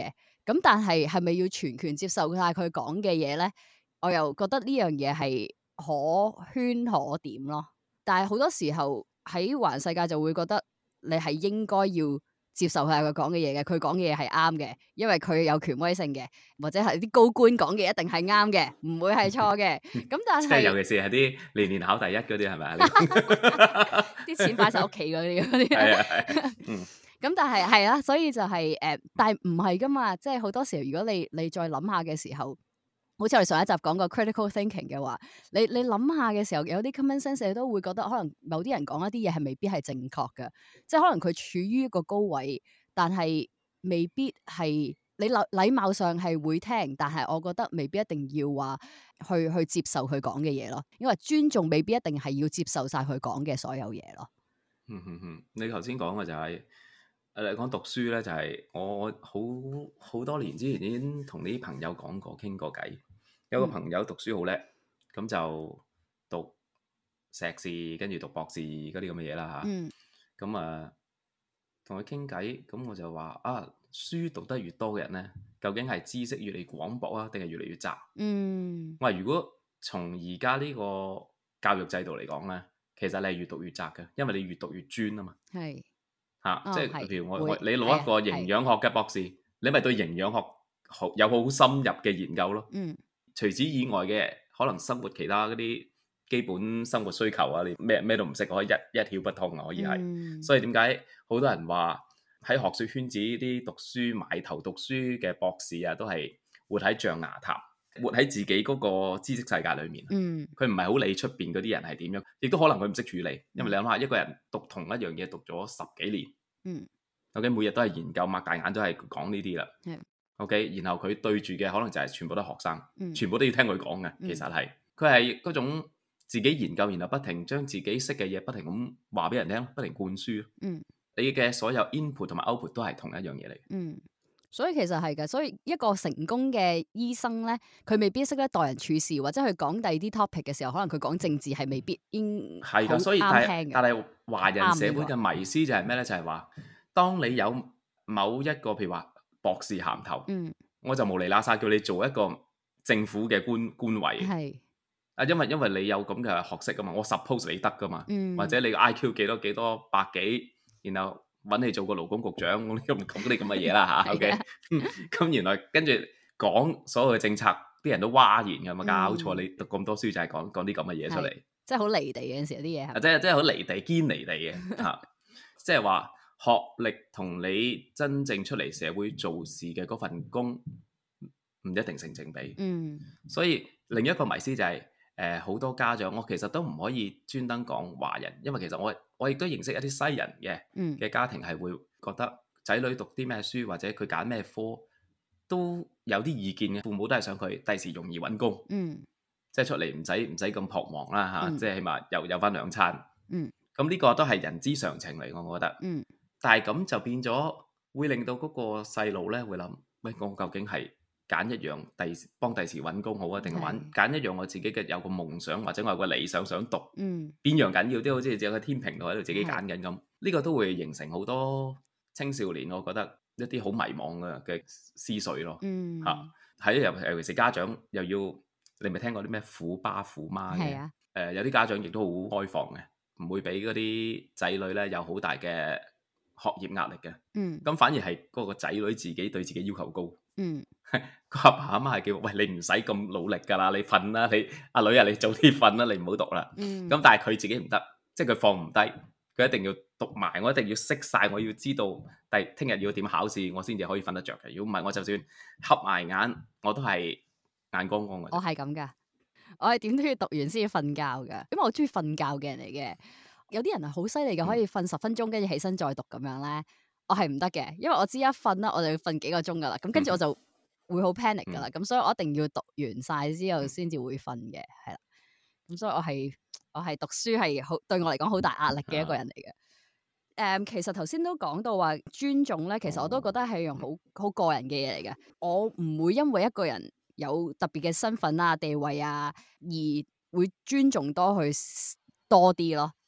咁但係係咪要全權接受晒佢講嘅嘢咧？我又覺得呢樣嘢係可圈可點咯。但係好多時候喺華人世界就會覺得你係應該要接受下佢講嘅嘢嘅，佢講嘅嘢係啱嘅，因為佢有權威性嘅，或者係啲高官講嘅一定係啱嘅，唔會係錯嘅。咁但係即係尤其是係啲年年考第一嗰啲係咪啊？ 啲錢擺晒屋企嗰啲嗰啲。 係啊係。嗯。 咁但係係啦，所以就係、是、誒、呃，但係唔係噶嘛，即係好多時候，如果你你再諗下嘅時候，好似我哋上一集講過 critical thinking 嘅話，你你諗下嘅時候，有啲 common sense 你都會覺得可能某啲人講一啲嘢係未必係正確嘅，即係可能佢處於一個高位，但係未必係你禮禮貌上係會聽，但係我覺得未必一定要話去去接受佢講嘅嘢咯，因為尊重未必一定係要接受晒佢講嘅所有嘢咯。 嗯嗯嗯，你頭先講嘅就係、是。誒講讀書咧，就係、是、我好好多年之前已經同啲朋友講過、傾過偈。有個朋友讀書好叻，咁、嗯、就讀碩士，跟住讀博士嗰啲咁嘅嘢啦嚇。咁啊，同佢傾偈，咁我就話啊，書讀得越多嘅人咧，究竟係知識越嚟越廣博啊，定係越嚟越窄？嗯，我話如果從而家呢個教育制度嚟講咧，其實你係越讀越窄嘅，因為你越讀越專啊嘛。係。嚇、啊，哦、即係譬如我我你攞一個營養學嘅博士，你咪對營養學好有好深入嘅研究咯。嗯，除此以外嘅可能生活其他嗰啲基本生活需求啊，你咩咩都唔識，可以一一竅不通啊，可以係。嗯、所以點解好多人話喺學術圈子啲讀書埋頭讀書嘅博士啊，都係活喺象牙塔，活喺自己嗰個知識世界裏面。嗯，佢唔係好理出邊嗰啲人係點樣，亦都可能佢唔識處理。因為你諗下，一個人讀同一樣嘢讀咗十幾年，嗯，OK，每日都係研究，擘大眼都係講呢啲啦。係，OK，然後佢對住嘅可能就係全部都係學生，嗯、全部都要聽佢講嘅。其實係佢係嗰種自己研究，然後不停將自己識嘅嘢不停咁話俾人聽，不停灌輸。嗯，你嘅所有 input 同埋 output 都係同一樣嘢嚟。嗯。 所以其實係嘅，所以一個成功嘅醫生咧，佢未必識得待人處事，或者佢講第二啲 topic 嘅時候，可能佢講政治係未必應係㗎。所以但係但係華人社會嘅迷思就係咩咧？就係話，當你有某一個譬如話博士銜頭，嗯，我就無厘啦沙叫你做一個政府嘅官官位，係啊，因為因為你有咁嘅學識㗎嘛，我 suppose 你得㗎嘛，嗯，或者你個 I Q 幾多幾多百幾，然後揾你做個勞工局長，我都唔講啲咁嘅嘢啦嚇。OK，咁原來跟住講所有嘅政策，啲人都嘩然㗎嘛，搞錯，你讀咁多書就係講講啲咁嘅嘢出嚟， 即係好離地嘅陣時有啲嘢， 即係即係好離地堅離地嘅嚇，即係話學歷同你真正出嚟社會做事嘅嗰份工唔一定成正比。嗯，所以另一個迷思就係誒好多家長，我其實都唔可以專登講華人，因為其實我我亦都認識一啲西人嘅嘅家庭係會覺得仔女讀啲咩書或者佢揀咩科都有啲意見嘅，父母都係想佢第時容易揾工，嗯，即係出嚟唔使唔使咁彷徨啦嚇，即係起碼有有翻兩餐，嗯，咁呢個都係人之常情嚟，我覺得，嗯，但係咁就變咗會令到嗰個細路咧會諗，喂，我究竟係揀一樣第幫第時揾工好啊，定係揾揀一樣我自己嘅有個夢想或者我有個理想想讀，嗯，邊樣緊要啲？好似有個天平度喺度自己揀緊咁，呢個都會形成好多青少年，我覺得一啲好迷茫嘅嘅思緒咯，嗯，嚇喺尤尤其是家長又要你咪聽過啲咩虎爸虎媽嘅，誒、呃、有啲家長亦都好開放嘅，唔會俾嗰啲仔女咧有好大嘅學業壓力嘅，嗯，咁反而係嗰個仔女自己對自己要求高，嗯，個阿爸阿媽係叫喂，你唔使咁努力㗎啦，你瞓啦，你阿女啊你早啲瞓啦，你唔好讀啦，嗯，咁但係佢自己唔得，即係佢放唔低，佢一定要讀埋，我一定要識晒，我要知道第聽日要點考試，我先至可以瞓得着嘅。如果唔係，我就算瞌埋眼，我都係眼光光嘅。 我係咁㗎，我係點都要讀完先要瞓覺㗎，因為我中意瞓覺嘅人嚟嘅。有啲人係好犀利嘅，可以瞓十分鐘跟住起身再讀咁樣咧，我係唔得嘅，因為我知一瞓啦，我就要瞓幾個鐘噶啦，咁跟住我就會好 panic 噶啦，咁、嗯、所以我一定要讀完晒之後先至會瞓嘅，係啦，咁所以我係我係讀書係好對我嚟講好大壓力嘅一個人嚟嘅。誒、嗯，其實頭先都講到話尊重咧，其實我都覺得係樣好好個人嘅嘢嚟嘅，我唔會因為一個人有特別嘅身份啊、地位啊，而會尊重多佢多啲咯。而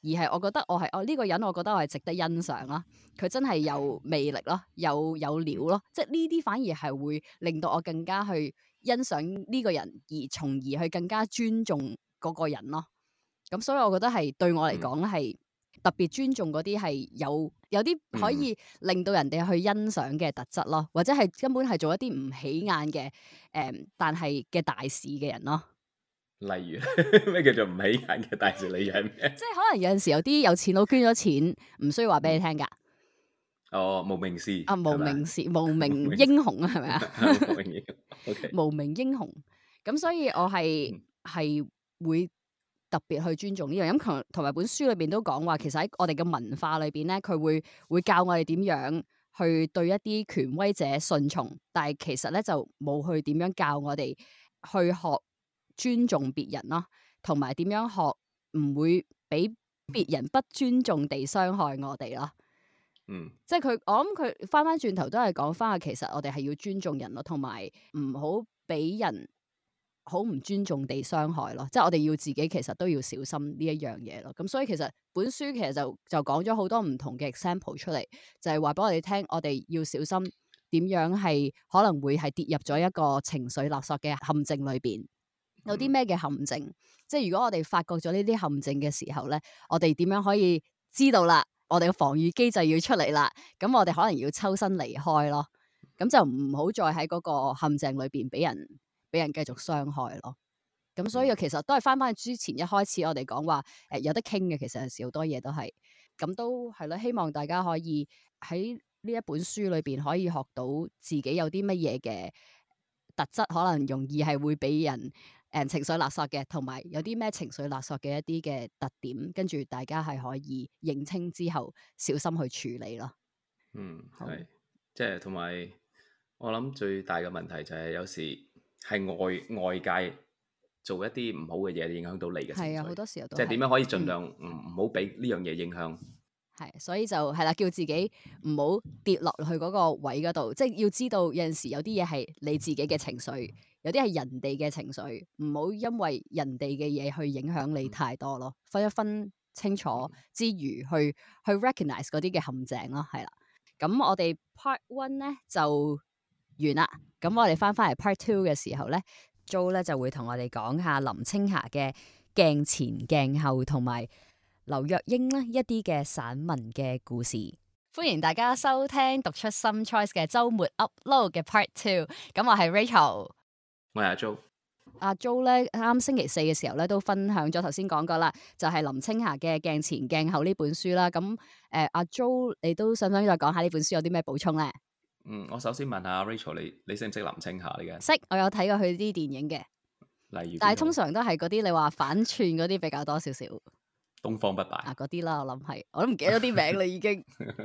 而係我覺得我係我呢個人，我覺得我係值得欣賞啦。佢真係有魅力咯，有有料咯，即係呢啲反而係會令到我更加去欣賞呢個人，而從而去更加尊重嗰個人咯。咁所以我覺得係對我嚟講係特別尊重嗰啲係有有啲可以令到人哋去欣賞嘅特質咯，或者係根本係做一啲唔起眼嘅誒、嗯，但係嘅大事嘅人咯。 例如咩叫做唔起眼嘅大事？例如係咩？即係可能有陣時有啲有錢佬捐咗錢，唔需要話俾你聽噶。 哦，無名氏啊，無名氏，無名英雄啊，係咪啊？ 無名英雄，OK， 無名英雄。咁所以我係係、嗯、會特別去尊重呢樣。咁同同埋本書裏邊都講話，其實喺我哋嘅文化裏邊咧，佢會會教我哋點樣去對一啲權威者順從，但係其實咧就冇去點樣教我哋去學尊重別人咯，同埋點樣學唔會俾別人不尊重地傷害我哋咯。嗯，即係佢，我諗佢翻翻轉頭都係講翻啊，其實我哋係要尊重人咯，同埋唔好俾人好唔尊重地傷害咯。即係我哋要自己其實都要小心呢一樣嘢咯。咁所以其實本書其實就就講咗好多唔同嘅 example 出嚟，就係話俾我哋聽，我哋要小心點樣係可能會係跌入咗一個情緒勒索嘅陷阱裏邊。有啲咩嘅陷阱？即係如果我哋發覺咗呢啲陷阱嘅時候咧，我哋點樣可以知道啦？我哋嘅防禦機制要出嚟啦，咁我哋可能要抽身離開咯，咁就唔好再喺嗰個陷阱裏邊俾人俾人繼續傷害咯。咁所以其實都係翻翻去之前一開始我哋講話誒有得傾嘅，其實有時好多嘢都係咁都係咯。希望大家可以喺呢一本書裏邊可以學到自己有啲乜嘢嘅特質，可能容易係會俾人。誒、嗯、情緒勒索嘅，同埋有啲咩情緒勒索嘅一啲嘅特點，跟住大家係可以認清之後，小心去處理咯。 嗯，係，即係同埋我諗最大嘅問題就係有時係外外界做一啲唔好嘅嘢，影響到你嘅情緒。係啊，好多時候都即係點樣可以盡量唔唔好俾呢樣嘢影響。 係，所以就係啦，叫自己唔好跌落去嗰個位嗰度，即係要知道有陣時有啲嘢係你自己嘅情緒。有啲係人哋嘅情緒，唔好因為人哋嘅嘢去影響你太多咯。分一分清楚之餘，去去 recognize 嗰啲嘅陷阱咯，係啦。咁我哋 part one 咧就完啦。咁我哋翻翻嚟 part two 嘅時候咧 Jo 咧就會同我哋講下林青霞嘅鏡前鏡後同埋劉若英咧一啲嘅散文嘅故事。歡迎大家收聽讀出 Some Choice 嘅週末 upload 嘅 part two。咁我係 Rachel。 我係阿 Jo， 阿 Jo 咧啱星期四嘅時候咧都分享咗頭先講過啦，就係、是、林青霞嘅鏡前鏡後呢本書啦。咁誒，阿 Jo 你都想唔想再講下呢本書有啲咩補充咧？ 嗯，我首先問下 Rachel，你你識唔識林青霞嚟嘅？ 識，我有睇過佢啲電影嘅。 例如， 但係通常都係嗰啲你話反串嗰啲比較多少少。 東方不敗啊，嗰啲啦，我諗係，我都唔記得啲名啦已經。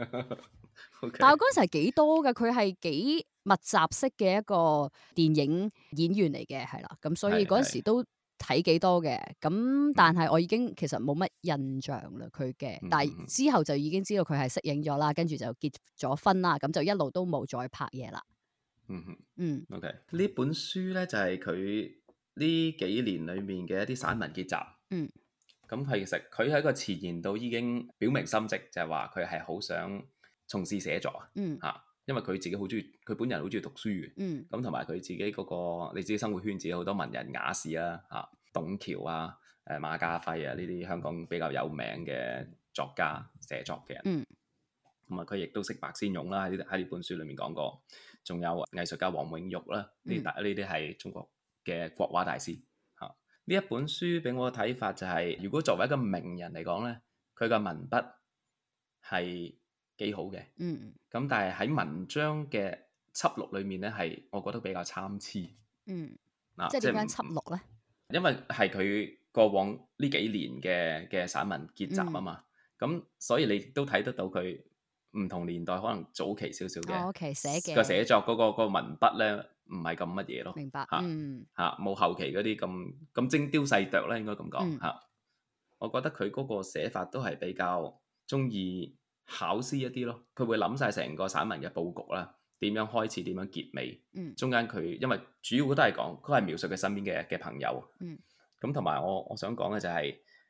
Okay. 但係我嗰陣時係幾多嘅，佢係幾密集式嘅一個電影演員嚟嘅，係啦，咁所以嗰陣時都睇幾多嘅，咁但係我已經其實冇乜印象啦，佢嘅，嗯、但係之後就已經知道佢係息影咗啦，跟住就結咗婚啦，咁就一路都冇再拍嘢啦。 嗯哼，嗯，OK，呢本書咧就係佢呢幾年裏面嘅一啲散文結集，嗯。咁其實佢喺個前言度已經表明心跡，就係話佢係好想從事寫作啊，嚇、嗯，因為佢自己好中意，佢本人好中意讀書嘅，咁同埋佢自己嗰、嗰個你自己生活圈子有好多文人雅士啦，嚇，董橋啊，誒馬家輝啊呢啲香港比較有名嘅作家寫作嘅人，同埋佢亦都識白先勇啦，喺喺呢本書裡面講過，仲有藝術家黃永玉啦，呢大呢啲係中國嘅國畫大師。呢一本書俾我嘅睇法就係、是，如果作為一個名人嚟講咧，佢嘅文筆係幾好嘅，嗯，咁但係喺文章嘅輯錄裏面咧，係我覺得比較參差，嗯，嗱、啊，即係點樣輯錄咧？因為係佢過往呢幾年嘅嘅散文結集啊嘛，咁、嗯、所以你都睇得到佢唔同年代可能早期少少嘅，哦 okay，寫嘅個寫作嗰、那個、那個文筆咧。唔係咁乜嘢咯，明白，嚇嚇冇後期嗰啲咁咁精雕細琢咧，應該咁講嚇。我覺得佢嗰個寫法都係比較中意考試一啲咯。佢會諗晒成個散文嘅佈局啦，點樣開始，點樣結尾。嗯、中間佢因為主要都係講，佢係描述佢身邊嘅嘅朋友。咁同埋我我想講嘅就係、是，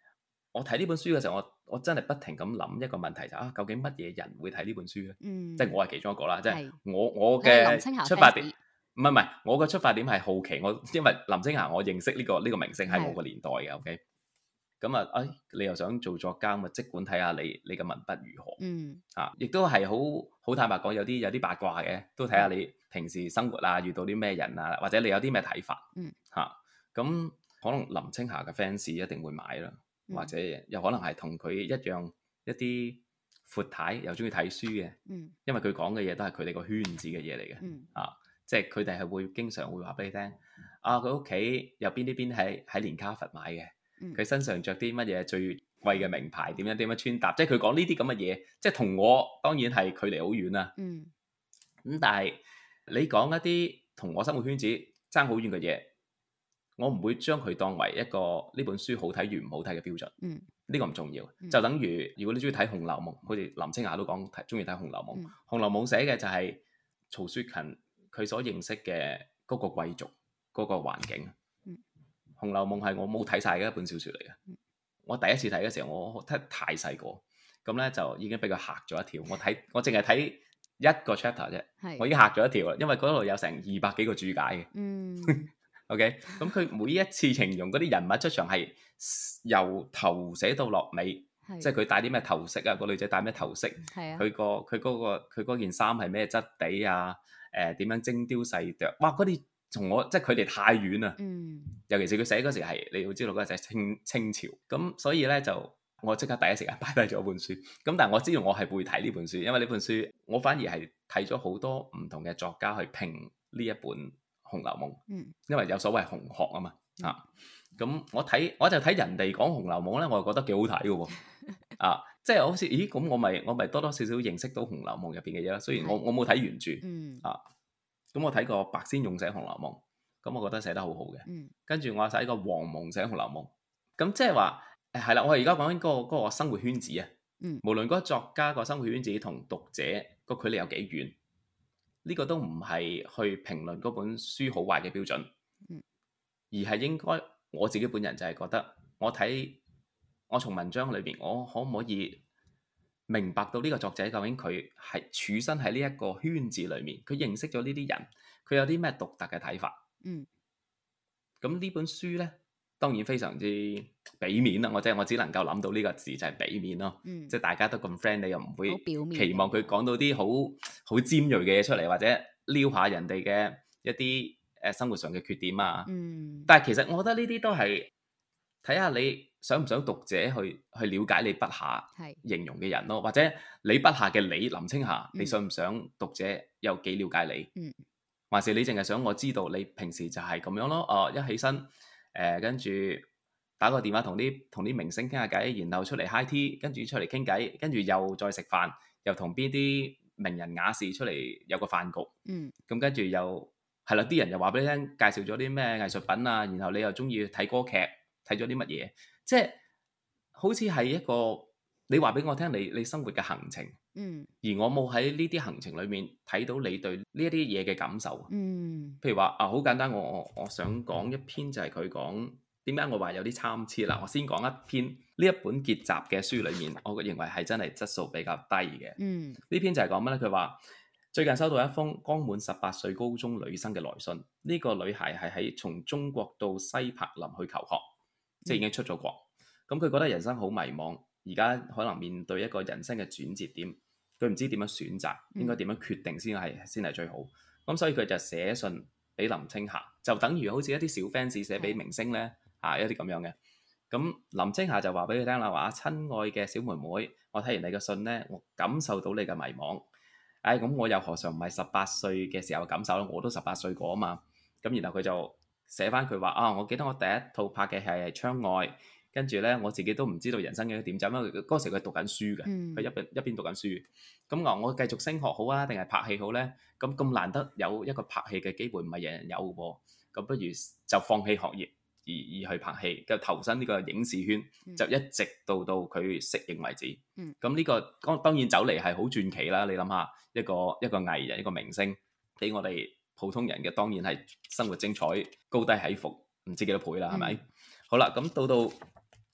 我睇呢本書嘅時候，我我真係不停咁諗一個問題就啊，究竟乜嘢人會睇呢本書咧？ 嗯， 即係我係其中一個啦，即係是我我嘅出發點，唔係唔係，我嘅出發點係好奇，我因為林青霞我認識呢、這個呢、這個明星係我個年代嘅，OK，咁啊，哎，你又想做作家，咪即管睇下你你嘅文筆如何， 嗯， 啊，亦都係好好坦白講，有啲有啲八卦嘅，都睇下你平時生活啊，遇到啲咩人啊，或者你有啲咩睇法， 嗯， 嚇、啊，咁可能林青霞嘅 fans 一定會買啦。或者又可能係同佢一樣一啲闊太又中意睇書嘅， 嗯、 因為佢講嘅嘢都係佢哋個圈子嘅嘢嚟嘅， 嗯、 啊，即係佢哋係會經常會話俾你聽，啊，佢屋企有邊啲邊喺喺連卡佛買嘅，佢、嗯、身上着啲乜嘢最貴嘅名牌，點樣點樣穿搭，即係佢講呢啲咁嘅嘢，即係同我當然係距離好遠啦，咁、嗯嗯、但係你講一啲同我生活圈子爭好遠嘅嘢。我唔會將佢當為一個呢本書好睇與唔好睇嘅標準，呢、嗯、個唔重要。嗯、就等於如果你中意睇《紅樓夢》，好似林青霞都講中意睇《紅樓夢》。嗯《紅樓夢》寫嘅就係曹雪芹佢所認識嘅嗰個貴族嗰、嗰個環境。嗯《紅樓夢》係我冇睇晒嘅一本小説嚟嘅。嗯、我第一次睇嘅時候，我睇太細個，咁咧就已經俾佢嚇咗一跳。我睇我淨係睇一個 chapter 啫，是我已經嚇咗一跳啦，因為嗰度有成二百幾個注解嘅。嗯OK，咁佢每一次形容嗰啲人物出場係由頭寫到落尾，的即係佢戴啲咩頭飾啊，個女仔戴咩頭飾，佢的、嗰個佢嗰、嗰個佢嗰件衫係咩質地啊？誒、呃、點樣精雕細琢？哇！嗰啲從我即係佢哋太遠啦。嗯、尤其是佢寫嗰時係你要知道嗰陣係清清朝，咁所以咧就我即刻第一時間擺低咗本書。咁但係我知道我係會睇呢本書，因為呢本書我反而係睇咗好多唔同嘅作家去評呢一本《紅樓夢》，因為有所謂紅學啊嘛，嗯、啊，咁我睇我就睇人哋講《紅樓夢》咧，我就覺得幾好睇嘅喎，啊，即係好似，咦，咁我咪我咪多多少少認識到《紅樓夢》入邊嘅嘢啦。雖然我我冇睇原著，嗯、啊，咁我睇過白先勇寫《紅樓夢》，咁我覺得寫得好好嘅，嗯、跟住我睇過黃蒙寫《紅樓夢》，咁即係話誒係啦，我而家講緊嗰個嗰個生活圈子啊，嗯、無論嗰個作家個生活圈子同讀者個距離有幾遠。呢個都唔係去評論嗰本書好壞嘅標準，嗯、而係應該我自己本人就係覺得，我睇我從文章裏邊，我可唔可以明白到呢個作者究竟佢係處身喺呢一個圈子裏面，佢認識咗呢啲人，佢有啲咩獨特嘅睇法？嗯，咁呢本書呢，當然非常之俾面啦，我即係我只能夠諗到呢個字就係俾面咯，嗯、即係大家都咁 friend，你又唔會期望佢講到啲好好尖銳嘅嘢出嚟，或者撩下人哋嘅一啲誒生活上嘅缺點啊。嗯、但係其實我覺得呢啲都係睇下你想唔想讀者去去了解你筆下形容嘅人咯，是或者你筆下嘅你林青霞，嗯、你想唔想讀者有幾了解你？嗯、還是你淨係想我知道你平時就係咁樣咯？哦，一起身。誒，跟住打個電話同啲同啲明星傾下偈，然後出嚟 high tea，跟住出嚟傾偈，跟住又再食飯，又同邊啲名人雅士出嚟有個飯局。嗯，咁跟住又係啦，啲人又話俾你聽，介紹咗啲咩藝術品啊，然後你又中意睇歌劇，睇咗啲乜嘢，即係好似係一個你話俾我聽，你你生活嘅行程。嗯，而我冇喺呢啲行程裏面睇到你對呢一啲嘢嘅感受。嗯，譬如話啊，好簡單，我我我想講一篇就係佢講點解我話有啲參差啦。我先講一篇呢一本結集嘅書裏面，我認為係真係質素比較低嘅。嗯，呢篇就係講乜咧？佢話最近收到一封剛滿十八歲高中女生嘅來信，呢個女孩係喺從中國到西柏林去求學，即係已經出咗國。咁佢覺得人生好迷茫。而家可能面對一個人生嘅轉折點，佢唔知點樣選擇，應該點樣決定先係先係最好。咁所以佢就寫信俾林青霞，就等於好似一啲小 fans 寫俾明星咧，嚇、啊、一啲咁樣嘅。咁林青霞就話俾佢聽啦，話親愛嘅小妹妹，我睇完你嘅信咧，我感受到你嘅迷茫。唉、哎，咁我又何嘗唔係十八歲嘅時候感受咧？我都十八歲過啊嘛。咁然後佢就寫翻佢話啊，我記得我第一套拍嘅係《窗外》。跟住咧，我自己都唔知道人生嘅點走，因為嗰時佢讀緊書嘅，佢、嗯、一邊一邊讀緊書。咁話我繼續升學好啊，定係拍戲好咧？咁咁難得有一個拍戲嘅機會，唔係人人有嘅喎。咁不如就放棄學業而而去拍戲，就投身呢個影視圈，嗯、就一直到到佢適應為止。咁呢、嗯呢個當當然走嚟係好傳奇啦。你諗下，一個一個藝人一個明星，俾我哋普通人嘅當然係生活精彩，高低起伏唔知幾多倍啦，係咪？嗯、好啦，咁到到。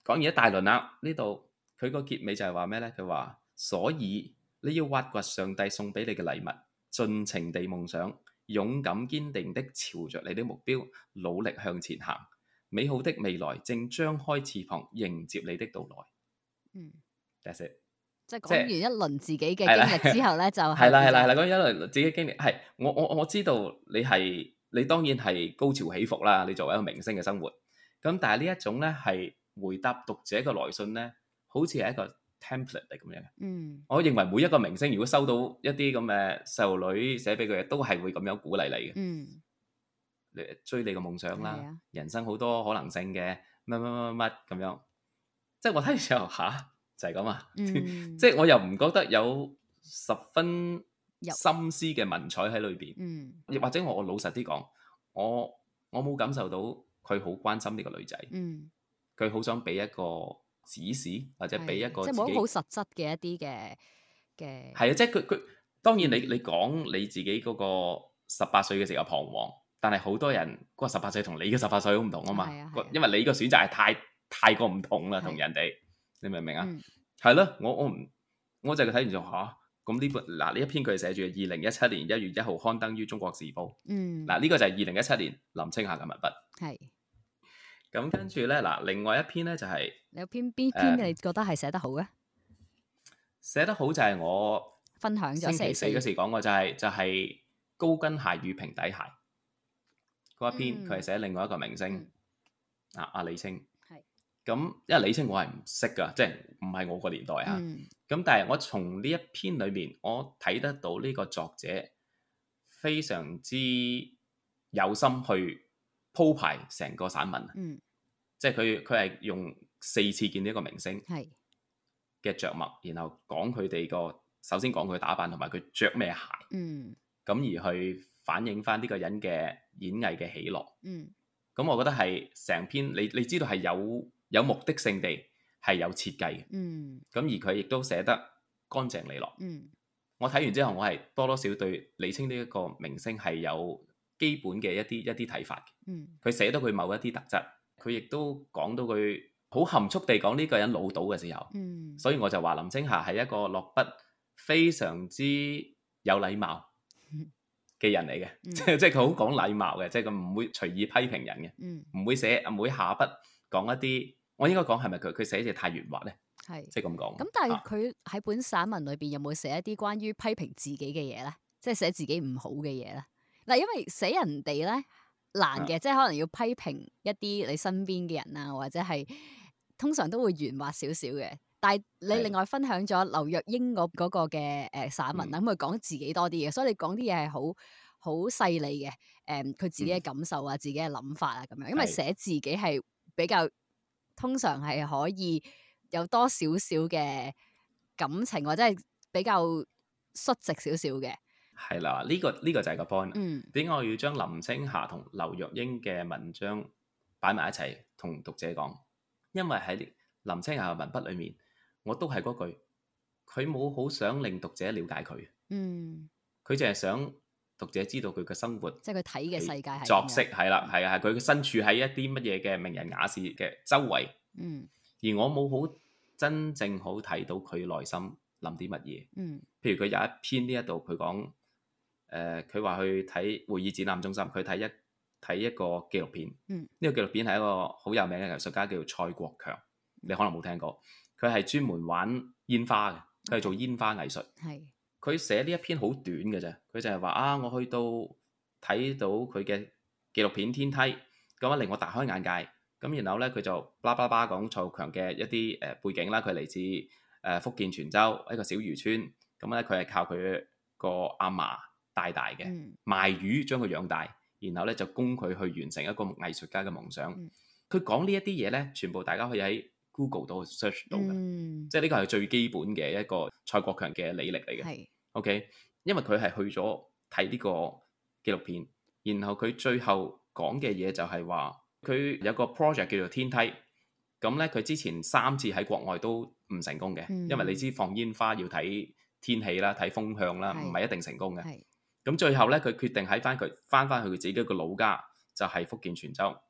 講完一大輪啦，呢度佢個結尾就係話咩呢？佢話所以你要挖掘上帝送俾你嘅禮物，盡情地夢想，勇敢堅定的朝着你的目標努力向前行，美好的未來正張開翅膀迎接你的到來。嗯，That's it。 即係講完一輪自己嘅經歷之後咧，就係啦係啦係啦，講完一輪自己經歷係我我我知道你係你當然係高潮起伏啦，你作為一個明星嘅生活，咁但係呢一種咧係回答讀者嘅來信咧，好似係一個 template 嚟咁樣嘅。嗯，我認為每一個明星如果收到一啲咁嘅細路女寫俾佢嘅，都係會咁樣鼓勵你嘅。嗯，你追你嘅夢想啦，啊、人生好多可能性嘅乜乜乜乜乜咁樣，即係我睇嘅時候吓。就係咁啊，嗯、即係我又唔覺得有十分心思嘅文采喺裏邊，亦、嗯、或者我老實啲講，我我冇感受到佢好關心呢個女仔，佢好、嗯、想俾一個指示或者俾一個自己即係冇好實質嘅一啲嘅嘅係啊，即係佢佢當然你你講你自己嗰個十八歲嘅時候彷徨，但係好多人嗰個十八歲同你嘅十八歲好唔同啊嘛，啊啊因為你個選擇係太太過唔同啦，同人哋。你明唔明啊？係咯、嗯，我我唔，我就睇完就吓，咁呢本嗱呢一篇佢寫住二零一七年一月一號刊登於《中國時報》。嗯，嗱呢個就係二零一七年林青霞嘅文筆。係是。咁跟住咧，嗱另外一篇咧就係、是、 你有篇邊篇你覺得係寫得好嘅？ 寫、呃、得好就係我分享咗星期四嗰時講過、就是，就係就係高跟鞋與平底鞋嗰一篇，佢係、嗯、寫另外一個明星、嗯、啊阿李菁。咁，因為李菁我係唔識噶，即係唔係我個年代啊。咁、嗯、但係我從呢一篇裏面，我睇得到呢個作者非常之有心去鋪排成個散文。嗯、即係佢佢係用四次見呢一個明星嘅着墨，是然後講佢哋個首先講佢打扮同埋佢着咩鞋。咁、嗯、而去反映翻呢個人嘅演藝嘅喜樂。咁、嗯、我覺得係成篇你你知道係有。有目的性地係有設計嘅，咁、嗯、而佢亦都寫得乾淨利落。嗯、我睇完之後，我係多多少對李菁呢一個明星係有基本嘅一啲一啲睇法嘅。佢、嗯、寫到佢某一啲特質，佢亦都講到佢好含蓄地講呢個人老到嘅時候，嗯、所以我就話林青霞係一個落筆非常之有禮貌嘅人嚟嘅，即係即係佢好講禮貌嘅，即係佢唔會隨意批評人嘅，唔、嗯、會寫唔會下筆講一啲。我應該講係咪佢佢寫字太圓滑咧？係即係咁講。咁但係佢喺本散文裏邊有冇寫一啲關於批評自己嘅嘢咧？即係寫自己唔好嘅嘢咧？嗱，因為寫人哋咧難嘅，啊、即係可能要批評一啲你身邊嘅人啊，或者係通常都會圓滑少少嘅。但係你另外分享咗劉若英嗰嗰個嘅誒散文啦，咁佢講自己多啲嘅，所以你講啲嘢係好好細膩嘅。誒、嗯，佢自己嘅感受啊，嗯、自己嘅諗法啊，咁樣。因為寫自己係比較。通常係可以有多少少嘅感情，或者係比較率直少少嘅。係啦，呢、這個呢、這個就係個 point。嗯，點解我要將林青霞同劉若英嘅文章擺埋一齊同讀者講？因為喺林青霞嘅文筆裏面，我都係嗰句，佢冇好想令讀者了解佢。嗯，佢淨係想讀者知道佢嘅生活，即係佢睇嘅世界係作息係啦，係啊，係佢身處喺一啲乜嘢嘅名人雅士嘅周圍，嗯，而我冇好真正好睇到佢內心諗啲乜嘢，嗯，譬如佢有一篇呢一度佢講，誒，佢話去睇會議展覽中心，佢睇一睇一個紀錄片，嗯，呢個紀錄片係一個好有名嘅藝術家叫蔡國強，你可能冇聽過，佢係專門玩煙花嘅，佢係做煙花藝術，係。佢寫呢一篇好短嘅啫，佢就係話啊，我去到睇到佢嘅紀錄片《天梯》，咁啊令我大開眼界。咁然後咧，佢就巴拉巴拉講蔡國強嘅一啲誒背景啦。佢嚟自誒福建泉州一個小漁村，咁咧佢係靠佢個阿嫲帶大嘅，嗯、賣魚將佢養大，然後咧就供佢去完成一個藝術家嘅夢想。佢講、嗯、呢一啲嘢咧，全部大家可以喺 Google 度 search 到嘅，嗯、即係呢個係最基本嘅一個蔡國強嘅履歷嚟嘅。是 OK，因為佢係去咗睇呢個紀錄片，然後佢最後講嘅嘢就係話，佢有個 project 叫做天梯，咁咧佢之前三次喺國外都唔成功嘅，嗯、因為你知放煙花要睇天氣啦、睇風向啦，唔係是一定成功嘅。咁是最後咧，佢決定喺翻佢翻翻去佢自己一個老家，就係、是、福建泉州。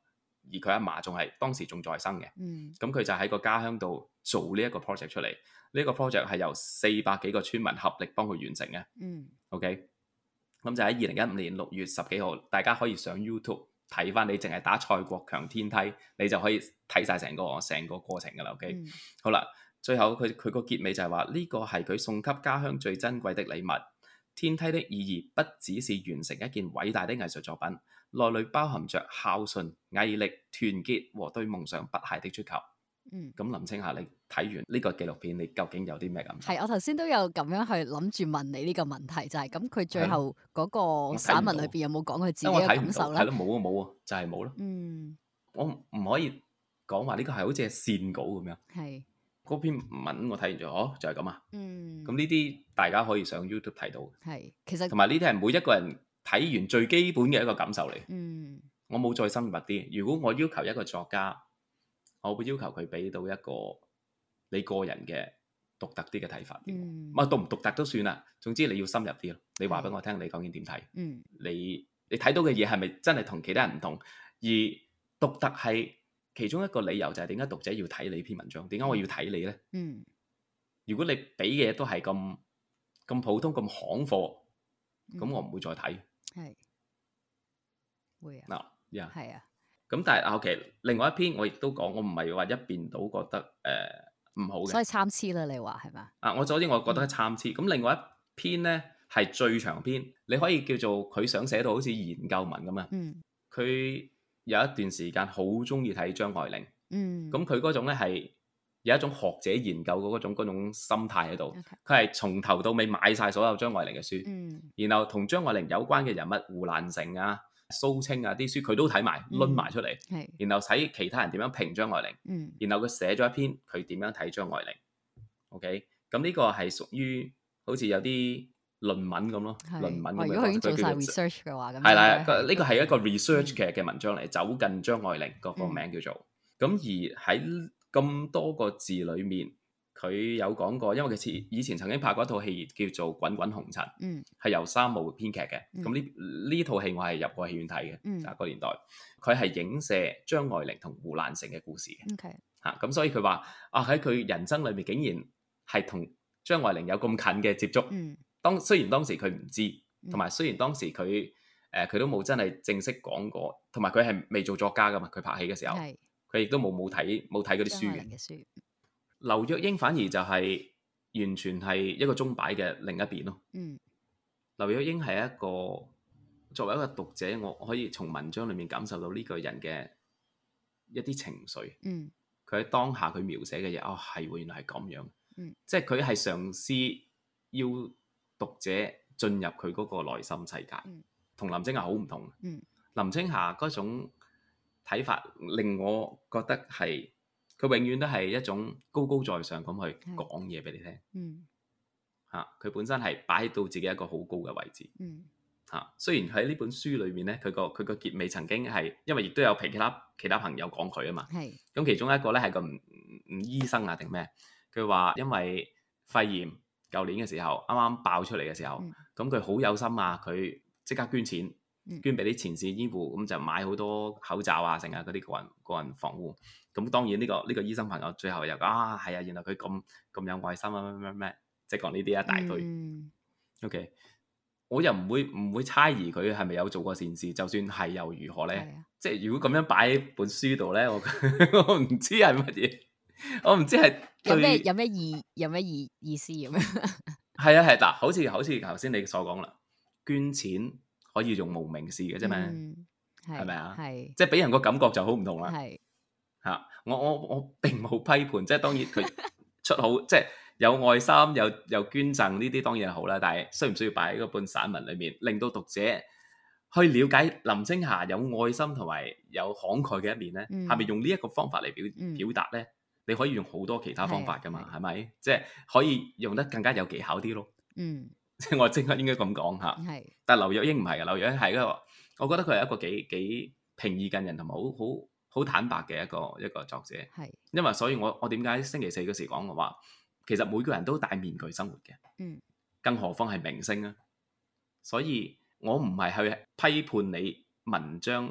而佢阿嫲仲係當時仲在生嘅。 嗯， 咁佢就喺個家鄉度做呢一個 project 出嚟。呢、這個 project 係由四百幾個村民合力幫佢完成嘅。 嗯 ，OK。咁就喺二零一五年六月十幾號，大家可以上 YouTube 睇翻，你淨係打蔡國強天梯，你就可以睇晒成個成個過程噶啦。OK，、嗯、好啦，最後佢佢個結尾就係話呢個係佢送給家鄉最珍貴的禮物。天梯的意義不只是完成一件偉大的藝術作品，內裏包含着孝順、毅力、團結和對夢想不懈的追求。嗯，咁林青霞，你睇完呢個紀錄片，你究竟有啲咩感受？ 係，我頭先都有咁樣去諗住問你呢個問題，就係咁佢最後嗰個散文裏邊有冇講佢自己嘅感受咧？ 係咯，冇啊冇啊，就係冇咯。 嗯， 我唔可以講話呢個係好似係線稿咁樣。係，嗰篇文我睇完咗，哦，就係咁啊。嗯，咁呢啲大家可以上 YouTube 睇到。係，其實同埋呢啲係每一個人睇完最基本嘅一個感受嚟。嗯，我冇再深入啲。如果我要求一個作家，我會要求佢俾到一個你個人嘅獨特啲嘅睇法。嗯，獨唔獨特都算啦，總之你要深入啲咯。你話俾我聽，你究竟點睇？嗯，你你睇到嘅嘢係咪真係同其他人唔同？而獨特係其中一個理由，就係點解讀者要睇你篇文章？點解我要睇你呢？嗯，如果你俾嘅嘢都係咁咁普通咁行貨，咁、嗯、我唔會再睇。係會啊嗱，呀係啊。咁但係 OK，另外一篇我亦都講，我唔係話一邊倒覺得誒唔、呃、好嘅，所以參差啦，你話係嘛？啊，我首先我覺得係參差，咁、嗯、另外一篇咧係最長篇，你可以叫做佢想寫到好似研究文咁啊。嗯，佢有一段時間好中意睇張愛玲。嗯，咁佢嗰種咧係有一種學者研究嘅嗰種嗰種心態喺度。佢係從頭到尾買晒所有張愛玲嘅書。嗯，然後同張愛玲有關嘅人物胡蘭成啊、蘇青啊啲書佢都睇埋，攆埋出嚟，嗯，然後睇其他人點樣評張愛玲，嗯，然後佢寫咗一篇佢點樣睇張愛玲。OK，咁呢個係屬於好似有啲論文咁咯，論文咁樣。如果佢已經做晒 research 嘅話，咁係啦，呢個係一個 research 嘅嘅文章嚟，嗯，走近張愛玲個個名叫做。咁，嗯，而喺咁多個字裏面，佢有講過，因為佢以前曾經拍過一套戲叫做《滾滾紅塵》，嗯，係由三毛編劇嘅。咁呢呢套戲我係入過戲院睇嘅，嗯，啊，嗰個年代，佢係影射張愛玲同胡蘭成嘅故事嘅。OK，吓，咁所以佢話啊，喺佢人生裏面竟然係同張愛玲有咁近嘅接觸。嗯，當雖然當時佢唔知，同埋雖然當時佢誒佢都冇真係正式講過，同埋佢係未做作家噶嘛，佢拍戲嘅時候，佢亦都冇冇睇冇睇嗰啲書嘅。劉若英反而就係完全係一個鐘擺嘅另一邊咯。嗯，劉若英係一個作為一個讀者，我可以從文章裏面感受到呢個人嘅一啲情緒。嗯，佢喺當下佢描寫嘅嘢，哦係喎，原來係咁樣。嗯，即係佢係嘗試要讀者進入佢嗰個內心世界，同、嗯、林青霞好唔同。嗯，林青霞嗰種睇法令我覺得係。佢永遠都係一種高高在上咁去講嘢俾你聽。嗯，嚇、啊、佢本身係擺到自己一個好高嘅位置。嗯，嚇、啊、雖然喺呢本書裏面咧，佢個佢個結尾曾經係因為亦都有其他其他朋友講佢啊嘛。係咁，其中一個咧係個唔唔醫生啊定咩？佢話因為肺炎，舊年嘅時候啱啱爆出嚟嘅時候，咁佢好有心啊，佢即刻捐錢。捐俾啲前線醫護，咁就買好多口罩啊，成啊嗰啲個人個人防護。咁當然呢、呢個呢、呢個醫生朋友最後又講啊，係啊，原來佢咁咁有愛心啊，咩咩咩，即係講呢啲一大堆。嗯、OK，我又唔會唔會猜疑佢係咪有做過善事，就算係又如何咧？啊、即係如果咁樣擺喺本書度咧，我我唔知係乜嘢，我唔知係有咩有咩意有咩意意思咁樣。係啊係嗱，好似好似頭先你所講啦，捐錢。可以用無名氏嘅啫嘛，係咪啊？係，即係俾人個感覺就好唔同啦。係嚇、啊，我我我並冇批判，即係當然佢出好，即係有愛心，有有捐贈呢啲當然係好啦。但係需唔需要擺喺嗰本散文裏面，令到讀者去了解林青霞有愛心同埋有慷慨嘅一面咧？係咪、嗯、用呢一個方法嚟表、嗯、表達咧？你可以用好多其他方法噶嘛，係咪？即係可以用得更加有技巧啲咯。嗯。即係我即刻應該咁講嚇，是但係劉若英唔係嘅，劉若英係一個，我覺得佢係一個幾幾平易近人同埋好好好坦白嘅一個一個作者。係是，因為所以我我點解星期四嗰時講嘅話，其實每個人都戴面具生活嘅，嗯，更何況係明星啊。所以我唔係去批判你文章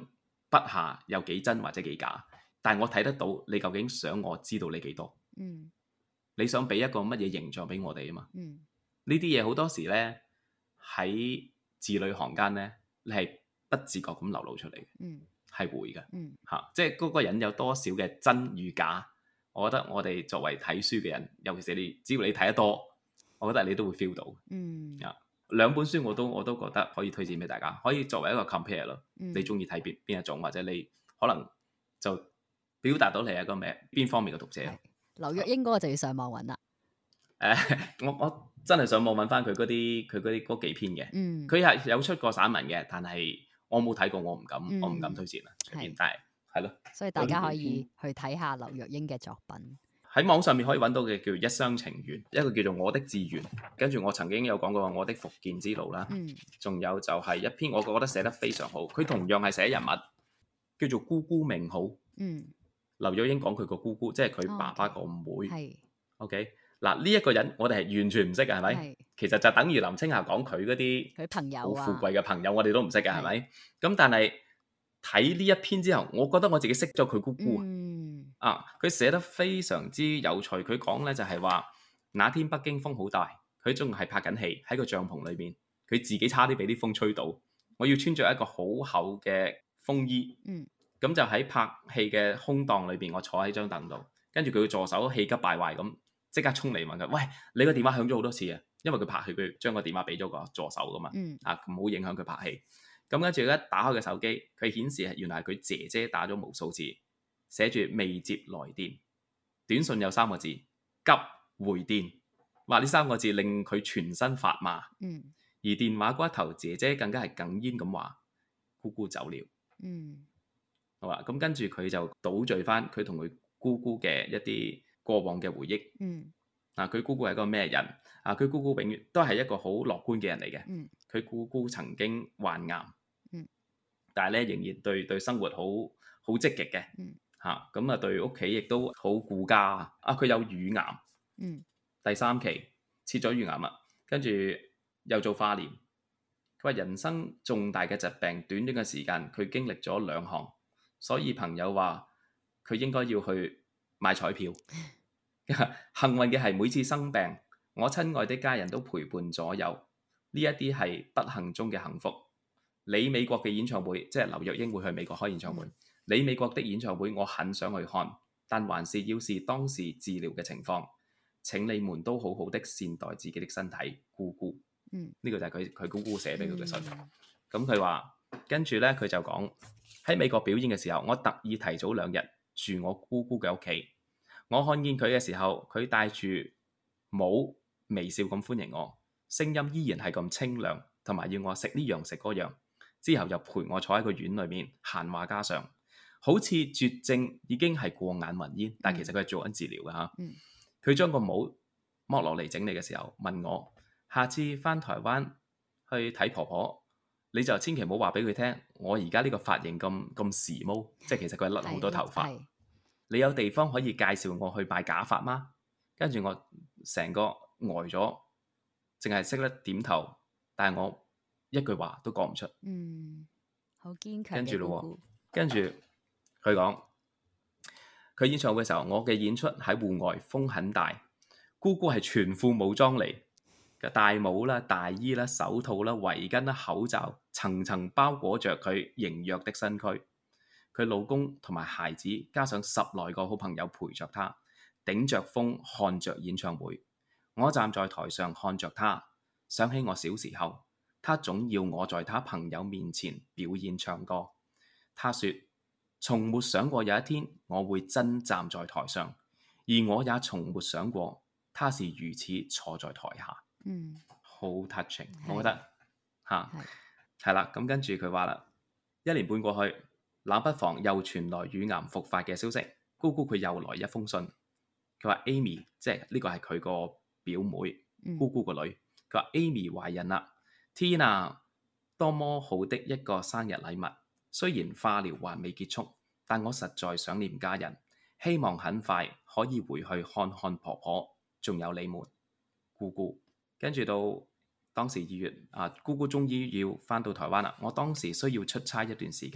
筆下有幾真或者幾假，但係我睇得到你究竟想我知道你幾多。 嗯， 你想俾一個乜嘢形象俾我哋啊嘛？ 嗯， 呢啲嘢好多時咧喺字裏行間咧，你係不自覺咁流露出嚟嘅， 嗯，係會嘅， 嗯， 嚇、啊，即係嗰個人有多少嘅真與假，我覺得我哋作為睇書嘅人，尤其是你，只要你睇得多，我覺得你都會 feel 到。 嗯， 啊，兩本書我都我都覺得可以推薦俾大家，可以作為一個 compare 咯。 嗯、 你中意睇邊邊一種，或者你可能就表達到你係一個咩邊方面嘅讀者。 劉若英嗰個就要上網揾啦。 誒、呃，我我真係上網揾翻佢嗰啲佢嗰啲嗰幾篇嘅。 嗯，佢係有出過散文嘅，但係我冇睇過，我唔敢，嗯、我唔敢推薦啦。係，但係係咯。所以大家可以去睇下劉若英嘅作品。 喺網上面可以揾到嘅叫《一廂情願》，一個叫做《我的志願》，跟住我曾經有講過我的復健之路啦。嗯。仲有就係一篇我覺得寫得非常好，佢同樣係寫人物，叫做《姑姑命好》。嗯。劉若英講佢個姑姑，即係佢爸爸個妹。係、哦。OK。嗱，呢一個人我哋係完全唔識嘅，係咪？係。其實就等於林青霞講佢嗰啲佢朋友好富貴嘅朋友，我哋都唔識嘅，係咪？咁但係睇呢一篇之後，我覺得我自己識咗佢姑姑。嗯。啊，佢寫得非常之有趣。佢講咧就係話，那天北京風好大，佢仲係拍緊戲喺個帳篷裏邊，佢自己差啲俾啲風吹到。我要穿着一個好厚嘅風衣。嗯。咁就喺拍戲嘅空檔裏邊，我坐喺張凳度，跟住佢嘅助手氣急敗壞咁。即刻衝嚟問佢：喂，你個電話響咗好多次啊！因為佢拍戲，佢將個電話俾咗個助手噶嘛，嗯、啊唔好影響佢拍戲。咁跟住一打開個手機，佢顯示係原來係佢姐姐打咗無數次，寫住未接來電。短信有三個字：急回電。話呢三個字令佢全身發麻。嗯、而電話嗰一頭姐姐更加係哽咽咁話：姑姑走了。嗯、好啦，咁跟住佢就倒敘翻佢同佢姑姑嘅一啲過往嘅回憶。嗯，啊，佢姑姑係一個咩人？啊，佢姑姑永遠都係一個好樂觀嘅人嚟嘅。嗯，佢姑姑曾經患癌。嗯，但係咧仍然對對生活好好積極嘅。嗯，嚇咁啊，對屋企亦都好顧家啊。啊，佢有乳癌。嗯，第三期切咗乳癌啊，跟住又做化療。佢話人生重大嘅疾病，短短嘅時間佢經歷咗兩項，所以朋友話佢應該要去買彩票。幸運嘅係每次生病，我親愛的家人都陪伴左右，呢一啲係不幸中嘅幸福。你美國嘅演唱會，即係劉若英會去美國開演唱會。你美國的演唱會我很想去看，但還是要視當時治療嘅情況。請你們都好好的善待自己的身體，姑姑。嗯，呢個就係佢佢姑姑寫俾佢嘅信。咁佢話跟住呢，佢就講喺美國表演嘅時候，我特意提早兩日住我姑姑嘅屋企。我看見佢嘅時候，佢戴住帽，微笑咁歡迎我，聲音依然係咁清亮，同埋要我食呢樣食嗰樣。之後又陪我坐喺個院裏面閒話家常，好似絕症已經係過眼雲煙，但其實佢係做緊治療嘅嚇。佢將個帽剝落嚟整理嘅時候，問我下次返台灣去睇婆婆，你就千祈唔好話俾佢聽，我而家呢個髮型咁咁時髦，即係其實佢係甩好多頭髮。你有地方可以介紹我去買假髮嗎？跟住我成個呆咗，淨係識得點頭，但係我一句話都講唔出。嗯，好堅強。跟住咯，跟住佢講，佢演唱會嘅時候，我嘅演出喺戶外，風很大，姑姑係全副武裝嚟嘅，大帽啦、大衣啦、手套啦、圍巾啦、口罩，層層包裹着佢羸弱的身軀。佢老公同埋孩子，加上十來個好朋友陪着他，頂着風看着演唱會。我站在台上看着他，想起我小時候，他總要我在他朋友面前表演唱歌。他說：從沒想過有一天我會真站在台上，而我也從沒想過他是如此坐在台下。嗯，好 touching，我覺得嚇係啦。咁跟住佢話啦，一年半過去。冷不防又傳來乳癌復發嘅消息，姑姑佢又來一封信，佢話 Amy 即係呢個係佢個表妹，嗯、姑姑個女，佢話 Amy 懷孕啦，天啊，多麼好的一個生日禮物！雖然化療還未結束，但我實在想念家人，希望很快可以回去看看婆婆，仲有你們，姑姑。跟住到當時二月啊，姑姑終於要返到台灣啦，我當時需要出差一段時間。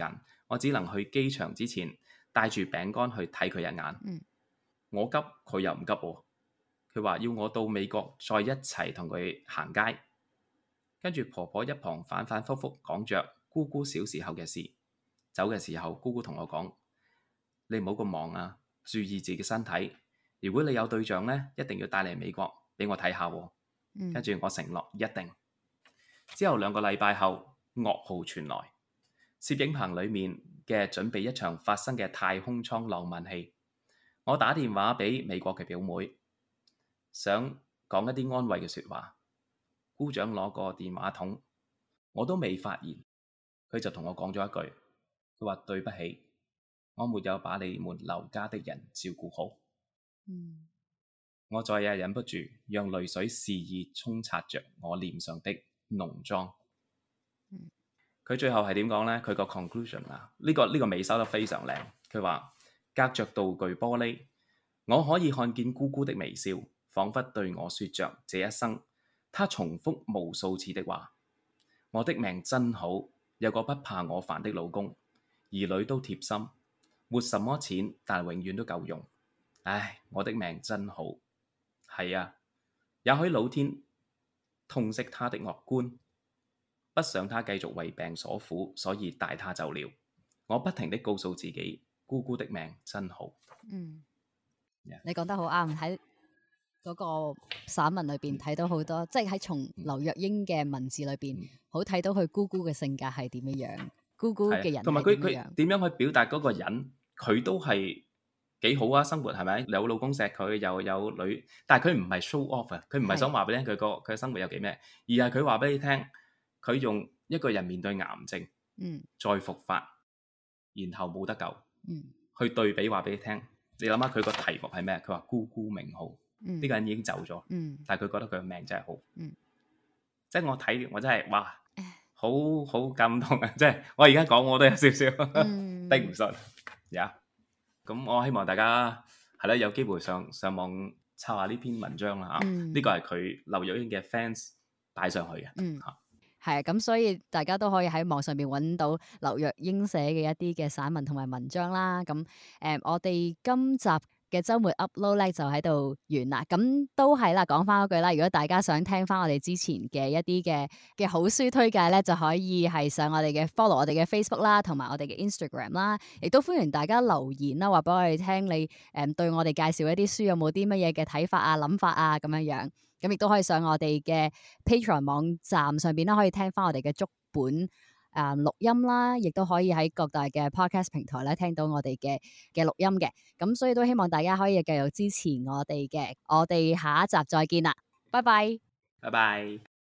我只能去機場之前帶住餅乾去睇佢一眼。 嗯、 我急，佢又唔急喎。佢話要我到美國再一齊同佢行街。跟住婆婆一旁反反覆覆講着姑姑小時候嘅事。走嘅時候，姑姑同我講：你唔好咁忙啊，注意自己身體。如果你有對象呢，一定要帶嚟美國俾我睇下喎。 嗯、 跟住我承諾一定。之後兩個禮拜後，噩耗傳來，攝影棚裡面嘅準備一場發生嘅太空艙浪漫戲。我打電話俾美國嘅表妹，想講一啲安慰嘅説話。姑丈攞個電話筒，我都未發言，佢就同我講咗一句，佢話對不起，我沒有把你們劉家的人照顧好。 嗯、 我再也忍不住，讓淚水肆意沖刷着我臉上的濃妝。佢、嗯、最後係點講呢？佢個 conclusion 啊，呢個呢個尾收得非常靚。佢話隔着道具玻璃，我可以看見姑姑的微笑，彷彿對我說着這一生。他重複無數次的話：我的命真好，有個不怕我煩的老公，兒女都貼心，沒什麼錢，但永遠都夠用。唉，我的命真好。係啊，也許老天痛惜他的樂觀，不想他繼續為病所苦，所以帶他走了。我不停地告訴自己，姑姑的命真好。 嗯，Yeah. 你 Yeah. 講得好啱，喺嗰個散文裏邊睇到好多，嗯、即係喺從劉若英嘅文字裏邊，嗯、好睇到佢姑姑嘅性格係點樣樣，姑姑嘅人同埋佢佢點樣去表達嗰個人，佢都係幾好啊！生活係咪有老公錫佢，又有女，但係佢唔係 show off 啊，佢唔係想話俾你聽佢個佢嘅生活有幾咩，而係佢話俾你聽，佢用一個人面對癌症，嗯，再復發，然後冇得救，嗯，去對比話俾你聽。你諗下佢個題目係咩？佢話姑姑命好。呢、嗯、個人已經走咗，嗯、但係佢覺得佢嘅命真係好，嗯、即係我睇我真係哇，好好感動啊！即係我而家講我都有少少頂唔順呀。咁、yeah. 我希望大家係啦，有機會上上網抄下呢篇文章啦嚇。呢、嗯、個係佢劉若英嘅 fans 擺上去嘅嚇。 係啊，咁所以大家都可以喺網上面揾到劉若英寫嘅一啲嘅散文同埋文章啦。咁誒、呃，我哋今集嘅週末 upload 咧就喺度完啦，咁都係啦，講翻嗰句啦，如果大家想聽翻我哋之前嘅一啲嘅嘅好書推介咧，就可以係上我哋嘅 follow 我哋嘅 Facebook 啦，同埋我哋嘅 Instagram 啦，亦都歡迎大家留言啦，話俾我哋聽你誒、嗯、對我哋介紹一啲書有冇啲乜嘢嘅睇法啊、諗法啊咁樣樣，咁亦都可以上我哋嘅 Patreon 網站上邊啦，可以聽翻我哋嘅足本誒錄、嗯、音啦，亦都可以喺各大嘅 podcast 平台咧聽到我哋嘅嘅錄音嘅，咁所以都希望大家可以繼續支持我哋嘅，我哋下一集再見啦，拜拜， 拜拜。